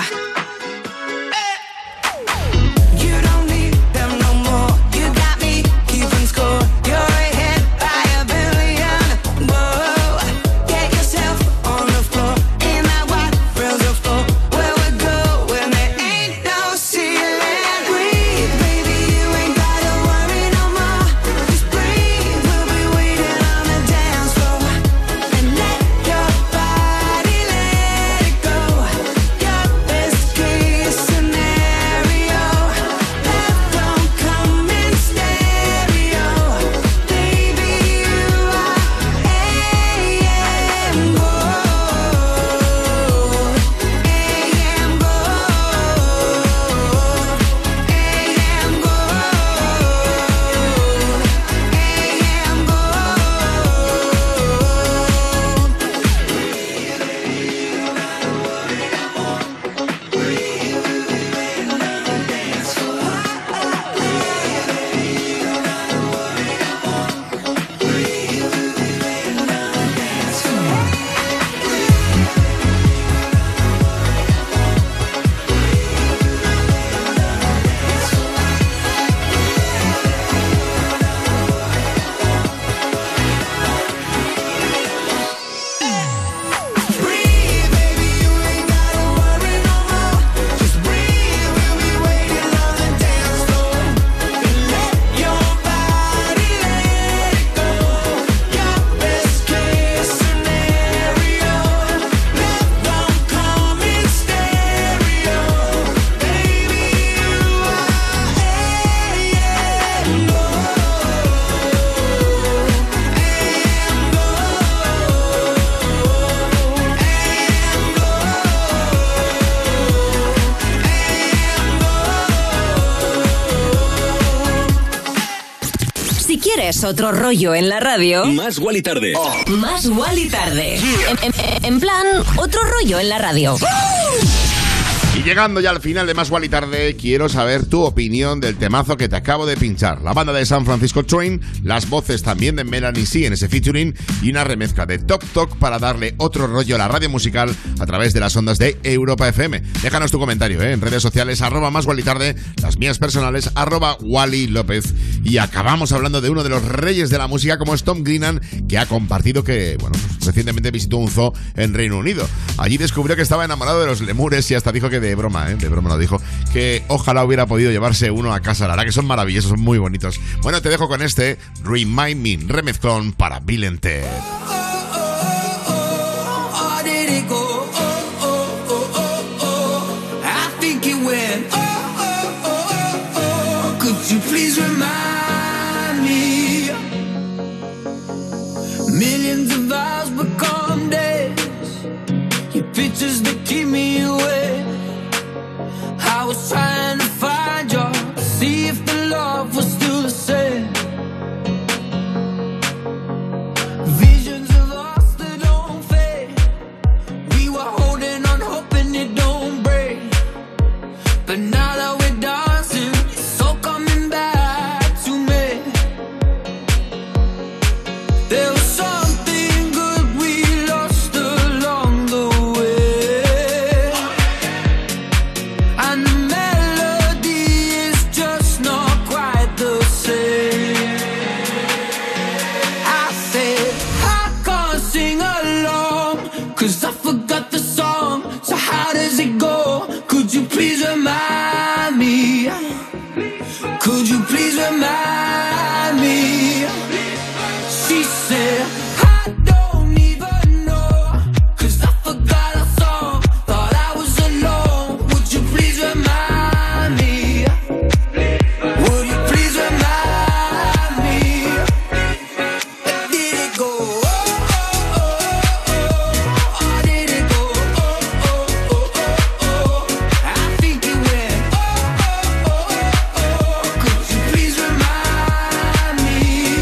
You don't need them no more. You got me keeping score. You're ahead by a billion. Whoa, get yourself on the floor. In that white thrills of floor. Where we go when there ain't no ceiling. Breathe, baby, you ain't gotta worry no more. Just breathe, we'll be waiting on the dance floor. And let your body let it go. Your best case scenario. Love don't come in stereo. Baby, you are A M Gold. A M Si quieres otro rollo en la radio, Más Wally tarde. Más Wally tarde. En, en- en plan, otro rollo en la radio. Y llegando ya al final de Más Wally Tarde, quiero saber tu opinión del temazo que te acabo de pinchar. La banda de San Francisco Train, las voces también de Melanie C en ese featuring y una remezcla de Top Talk para darle otro rollo a la radio musical a través de las ondas de Europa F M. Déjanos tu comentario ¿eh? en redes sociales, arroba Más Wally Tarde, las mías personales, arroba Wally López. Y acabamos hablando de uno de los reyes de la música como es Tom Grennan, que ha compartido que, bueno, pues, recientemente visitó un zoo en Reino Unido. Allí descubrió que estaba enamorado de los lemures y hasta dijo que de broma, ¿eh? de broma lo dijo, que ojalá hubiera podido llevarse uno a casa. La verdad que son maravillosos, son muy bonitos. Bueno, te dejo con este Remind Me, remezclón para Bill and Ted. Oh, did it go? Oh, oh, oh, oh, oh. I think it went. Oh, oh, oh, oh, oh. Could you please remind me? Millions of hours become days. Your pictures that keep me awake. I was trying to find you, see if the love was still 'cause I forgot the song. So how does it go? Could you please remind me? Could you please remind me? She said, I don't even know, 'cause I forgot our song. Thought I was alone. Would you please remind me? Would you please remind me? Did it go? Oh, oh, oh, oh. Or did it go? Oh, oh, oh, oh, oh. I think it went. Oh, oh, oh, oh. Could you please remind me?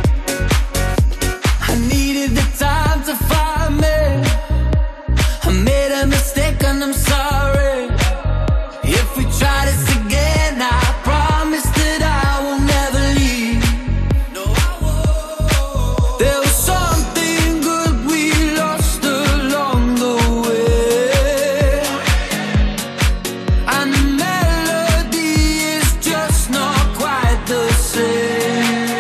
I needed the time to find me. I made a mistake and I'm sorry. If we try this again, I promise that I will never leave. No, I won't. There was something good we lost along the way, and the melody is just not quite the same.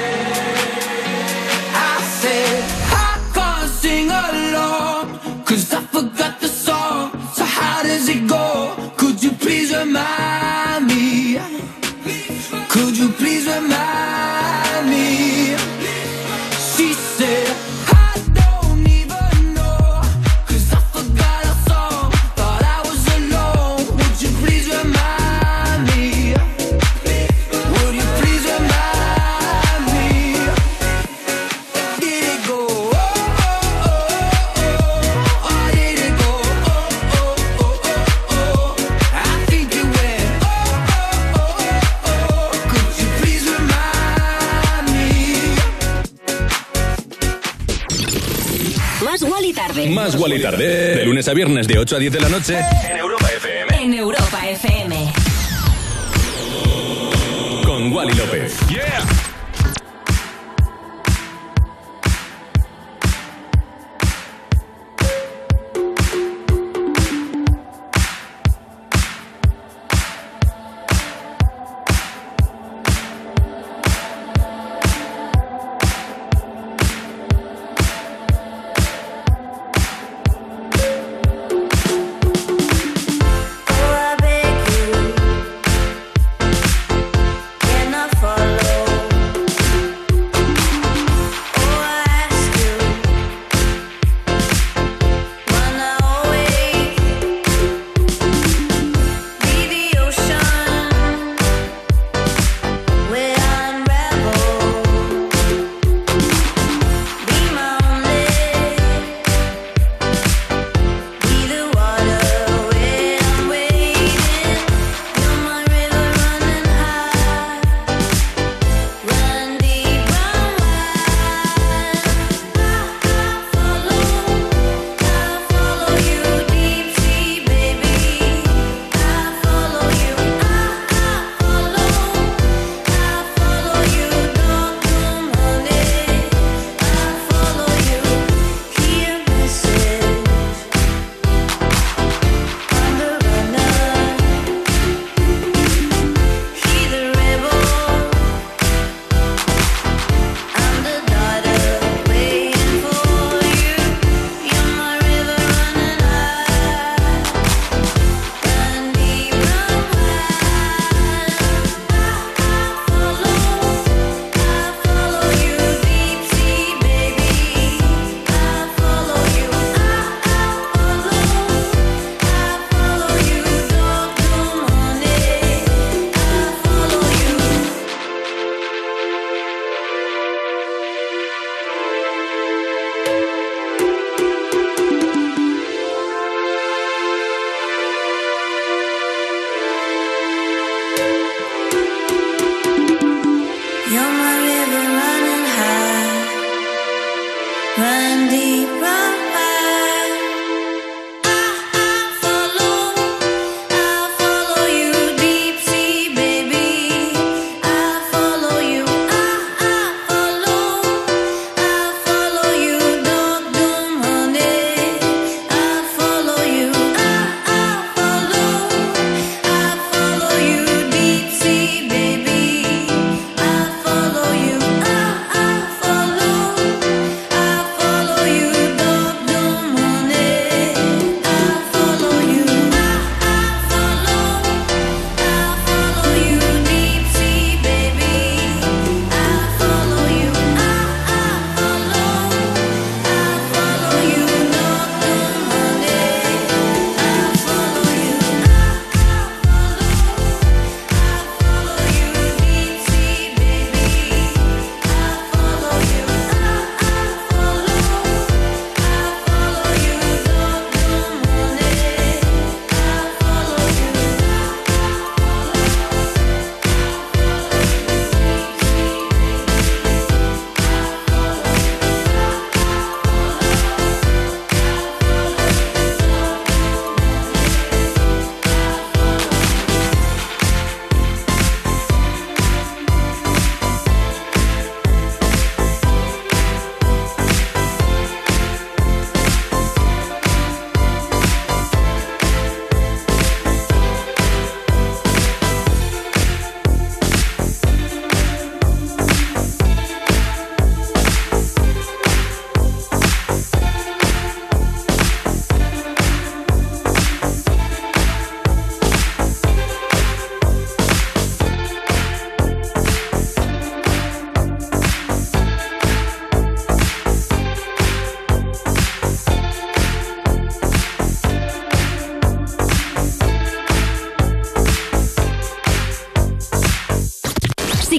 I said I can't sing along, 'cause I forgot the song. So how does it go? Could you please remind me? Could you please remind me? She said, I don't even know, 'cause I forgot our song. Thought I was alone. Would you please remind me? Would you please remind me? Did it go? Oh, oh, oh, oh. Or did it go? Oh, oh, oh, oh, oh. I think it went. Oh, oh, oh, oh. Could you please remind me? Más Wally tarde. Más Wally tarde. De lunes a viernes de ocho a diez de la noche en Europa F M. En Europa F M. Con Wally López. Yeah. Oh, I beg you, can I follow?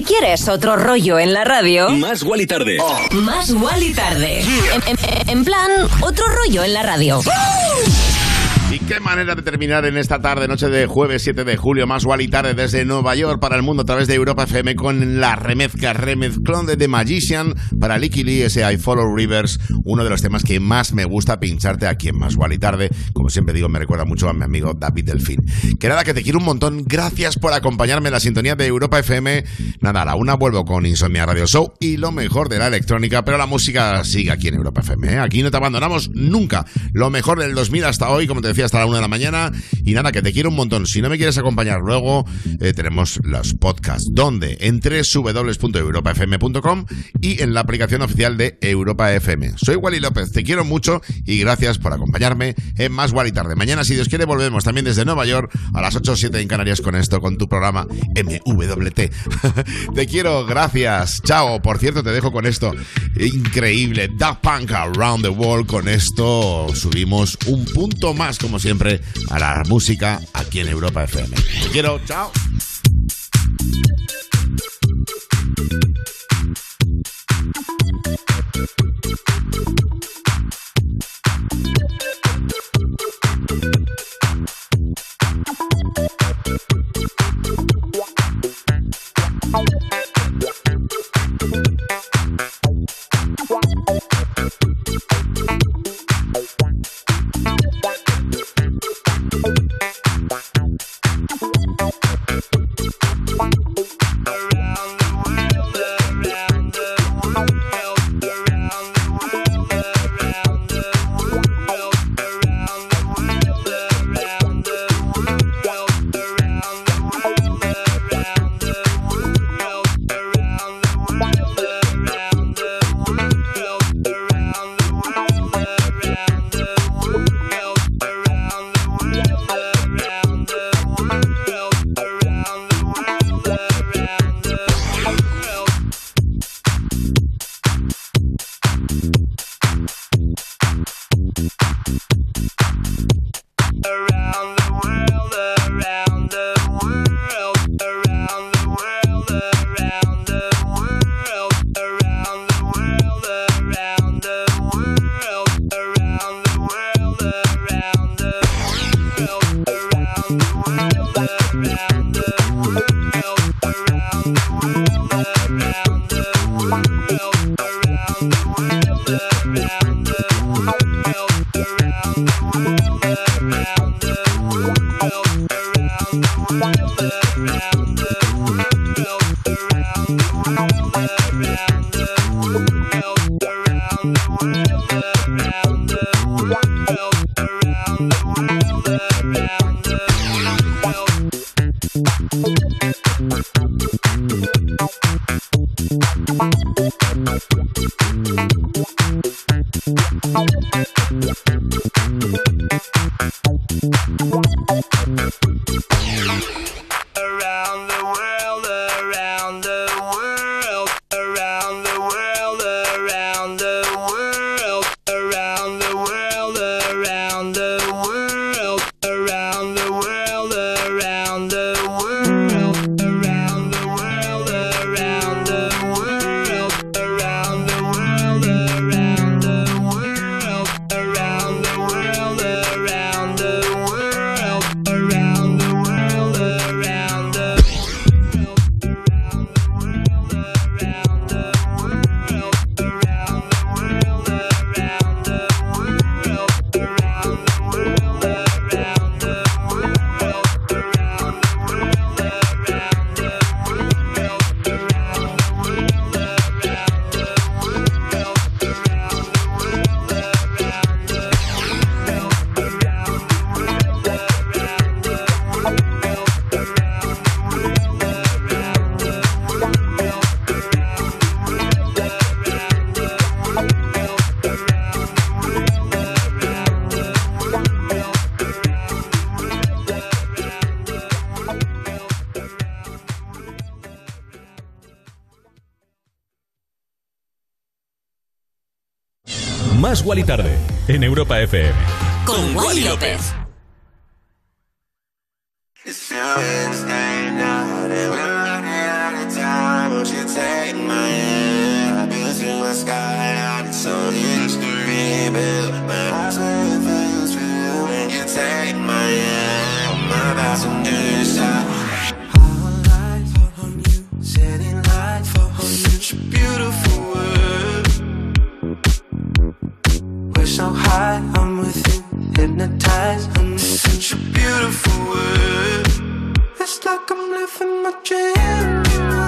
quieres otro rollo en la radio... Más Wally Tarde. Oh. Más Wally Tarde. En, en, en plan, otro rollo en la radio. Y qué manera de terminar en esta tarde, noche de jueves siete de julio, Más Wally Tarde desde Nueva York para el mundo a través de Europa F M con la remezcla, remezclón de The Magician para Licky Lee, ese I Follow Rivers, uno de los temas que más me gusta pincharte aquí en Más Wally Tarde. Como siempre digo, me recuerda mucho a mi amigo David Delfín. Que nada, que te quiero un montón. Gracias por acompañarme en la sintonía de Europa F M. Nada, a la una vuelvo con Insomnia Radio Show y lo mejor de la electrónica, pero la música sigue aquí en Europa F M, ¿eh? Aquí no te abandonamos nunca. Lo mejor del dos mil hasta hoy, como te decía, hasta la una de la mañana. Y nada, que te quiero un montón. Si no me quieres acompañar luego, eh, tenemos los podcasts. ¿Dónde? En doble u doble u doble u punto europa f m punto com y en la aplicación oficial de Europa F M. Soy Wally López, te quiero mucho y gracias por acompañarme en Más Wally Tarde. Mañana, si Dios quiere, volvemos también desde Nueva York a las ocho o siete en Canarias con esto, con tu programa M W T. Te quiero, gracias. Chao. Por cierto, te dejo con esto. Increíble. Daft Punk Around the World. Con esto subimos un punto más, como siempre, a la música aquí en Europa F M. Te quiero, chao. Más Wally Tarde en Europa F M. Con Wally López. It's Won't you take my hand? I've been through the sky, and it's only history, babe. My eyes where it feels real. When you take my hand, my passenger side. All lights on you, setting lights for such a beautiful world. We're so high, I'm with you, hypnotized. I'm such a beautiful world. It's like I'm living my dream.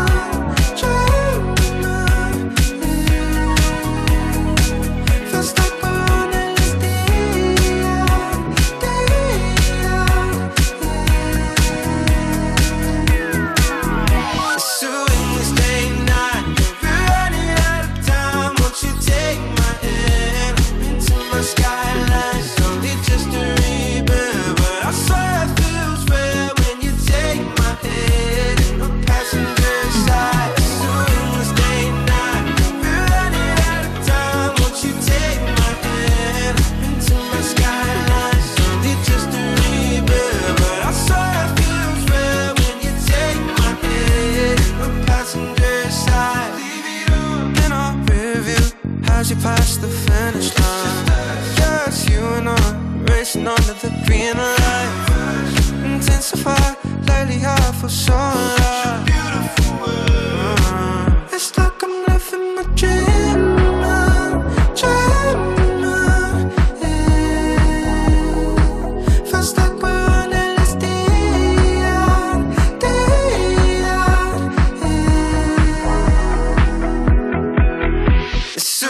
You past the finish line. Just you and I racing under the green light. Intensify, lately I feel so alive. uh, It's like I'm living my dream. Dream. Yeah. Feels like we're on L S D. It's so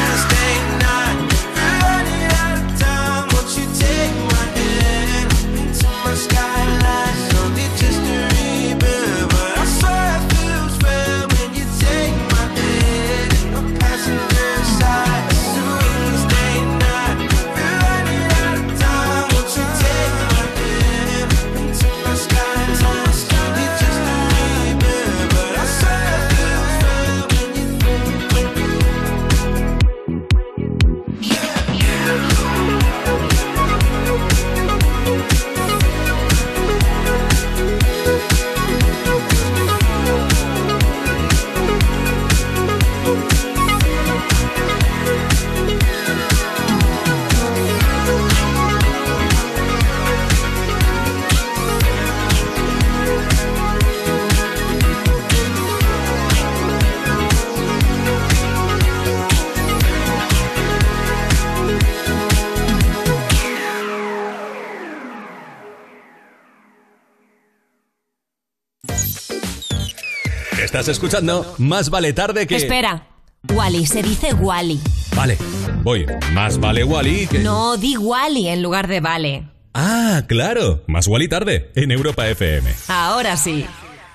Estás escuchando Más vale tarde que... Espera, Wally, se dice Wally. Vale, voy. Más vale Wally que... No, di Wally en lugar de vale. Ah, claro. Más Wally tarde en Europa F M. Ahora sí.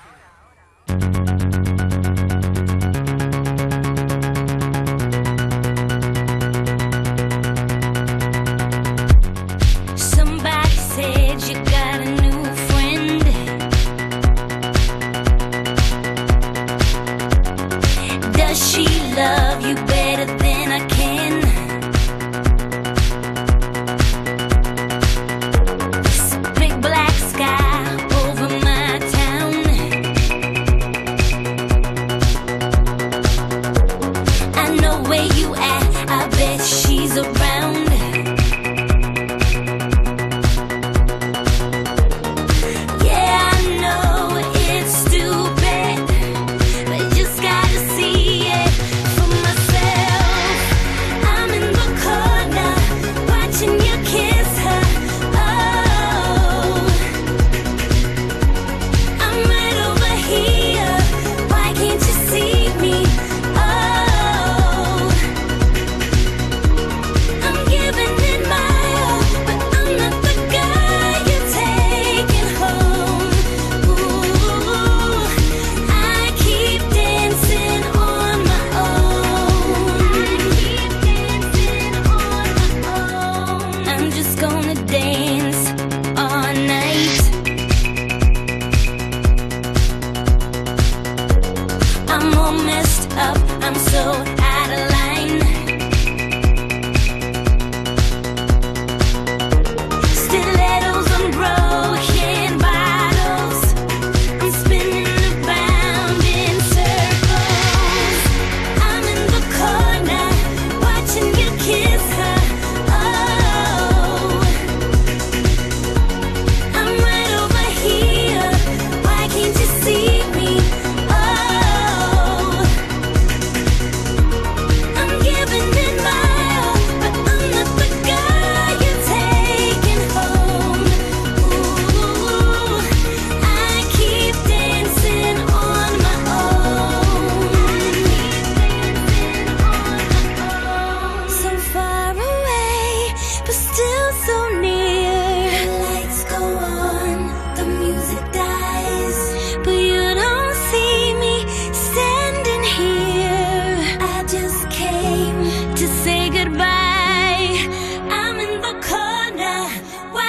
Somebody said you got a new friend. Does she love you better than I can? It's a big black sky over my town.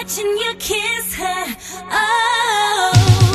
watching you kiss her. Oh.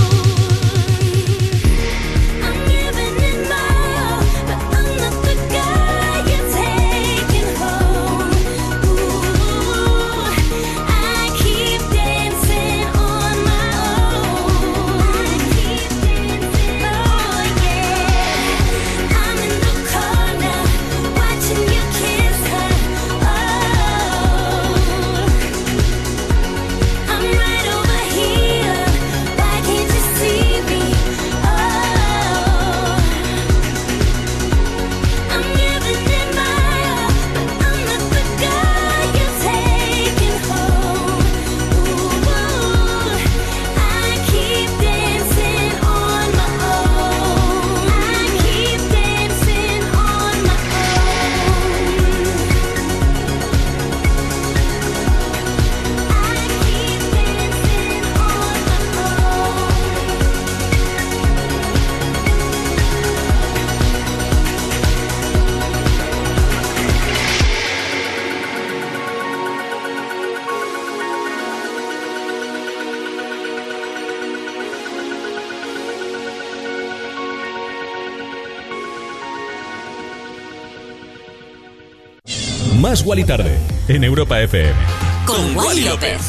Más Wally Tarde, en Europa F M. Con Wally López.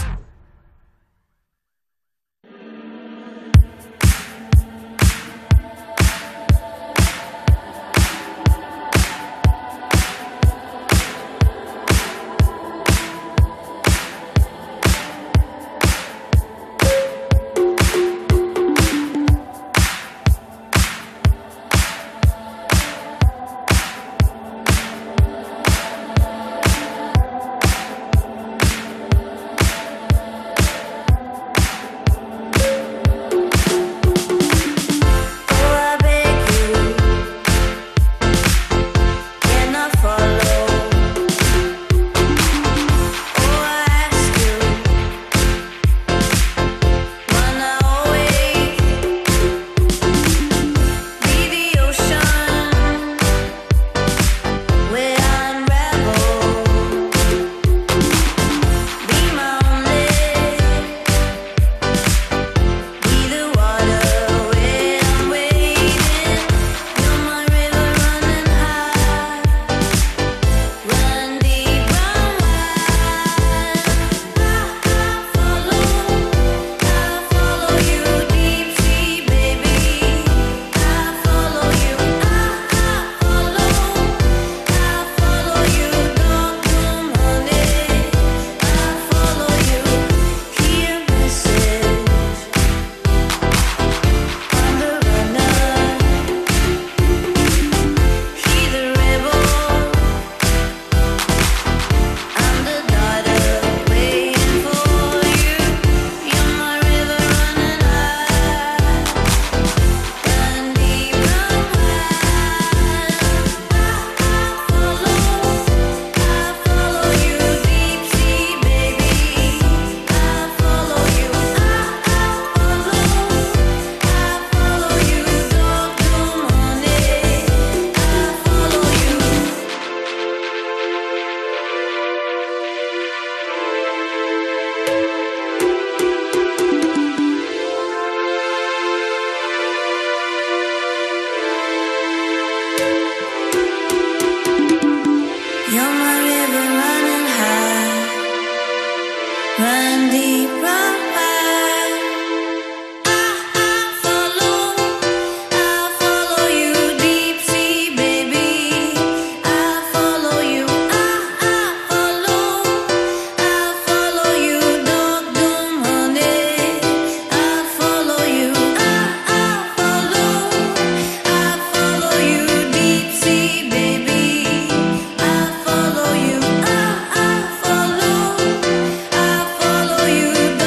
You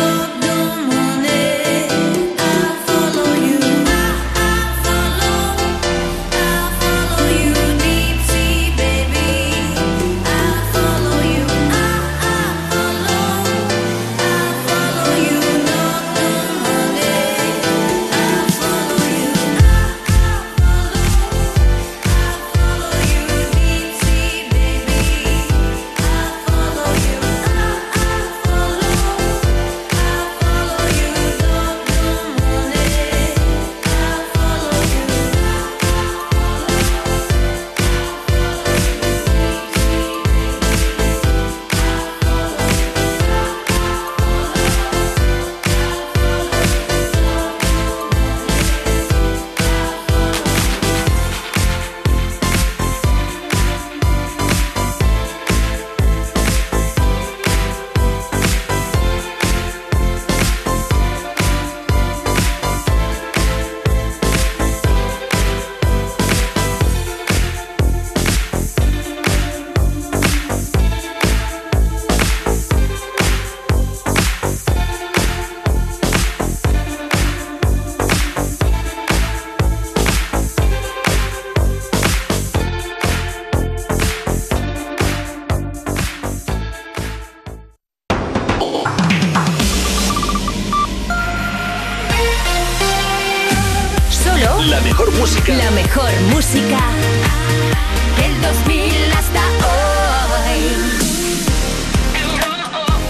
La mejor música. La mejor música Del dos mil hasta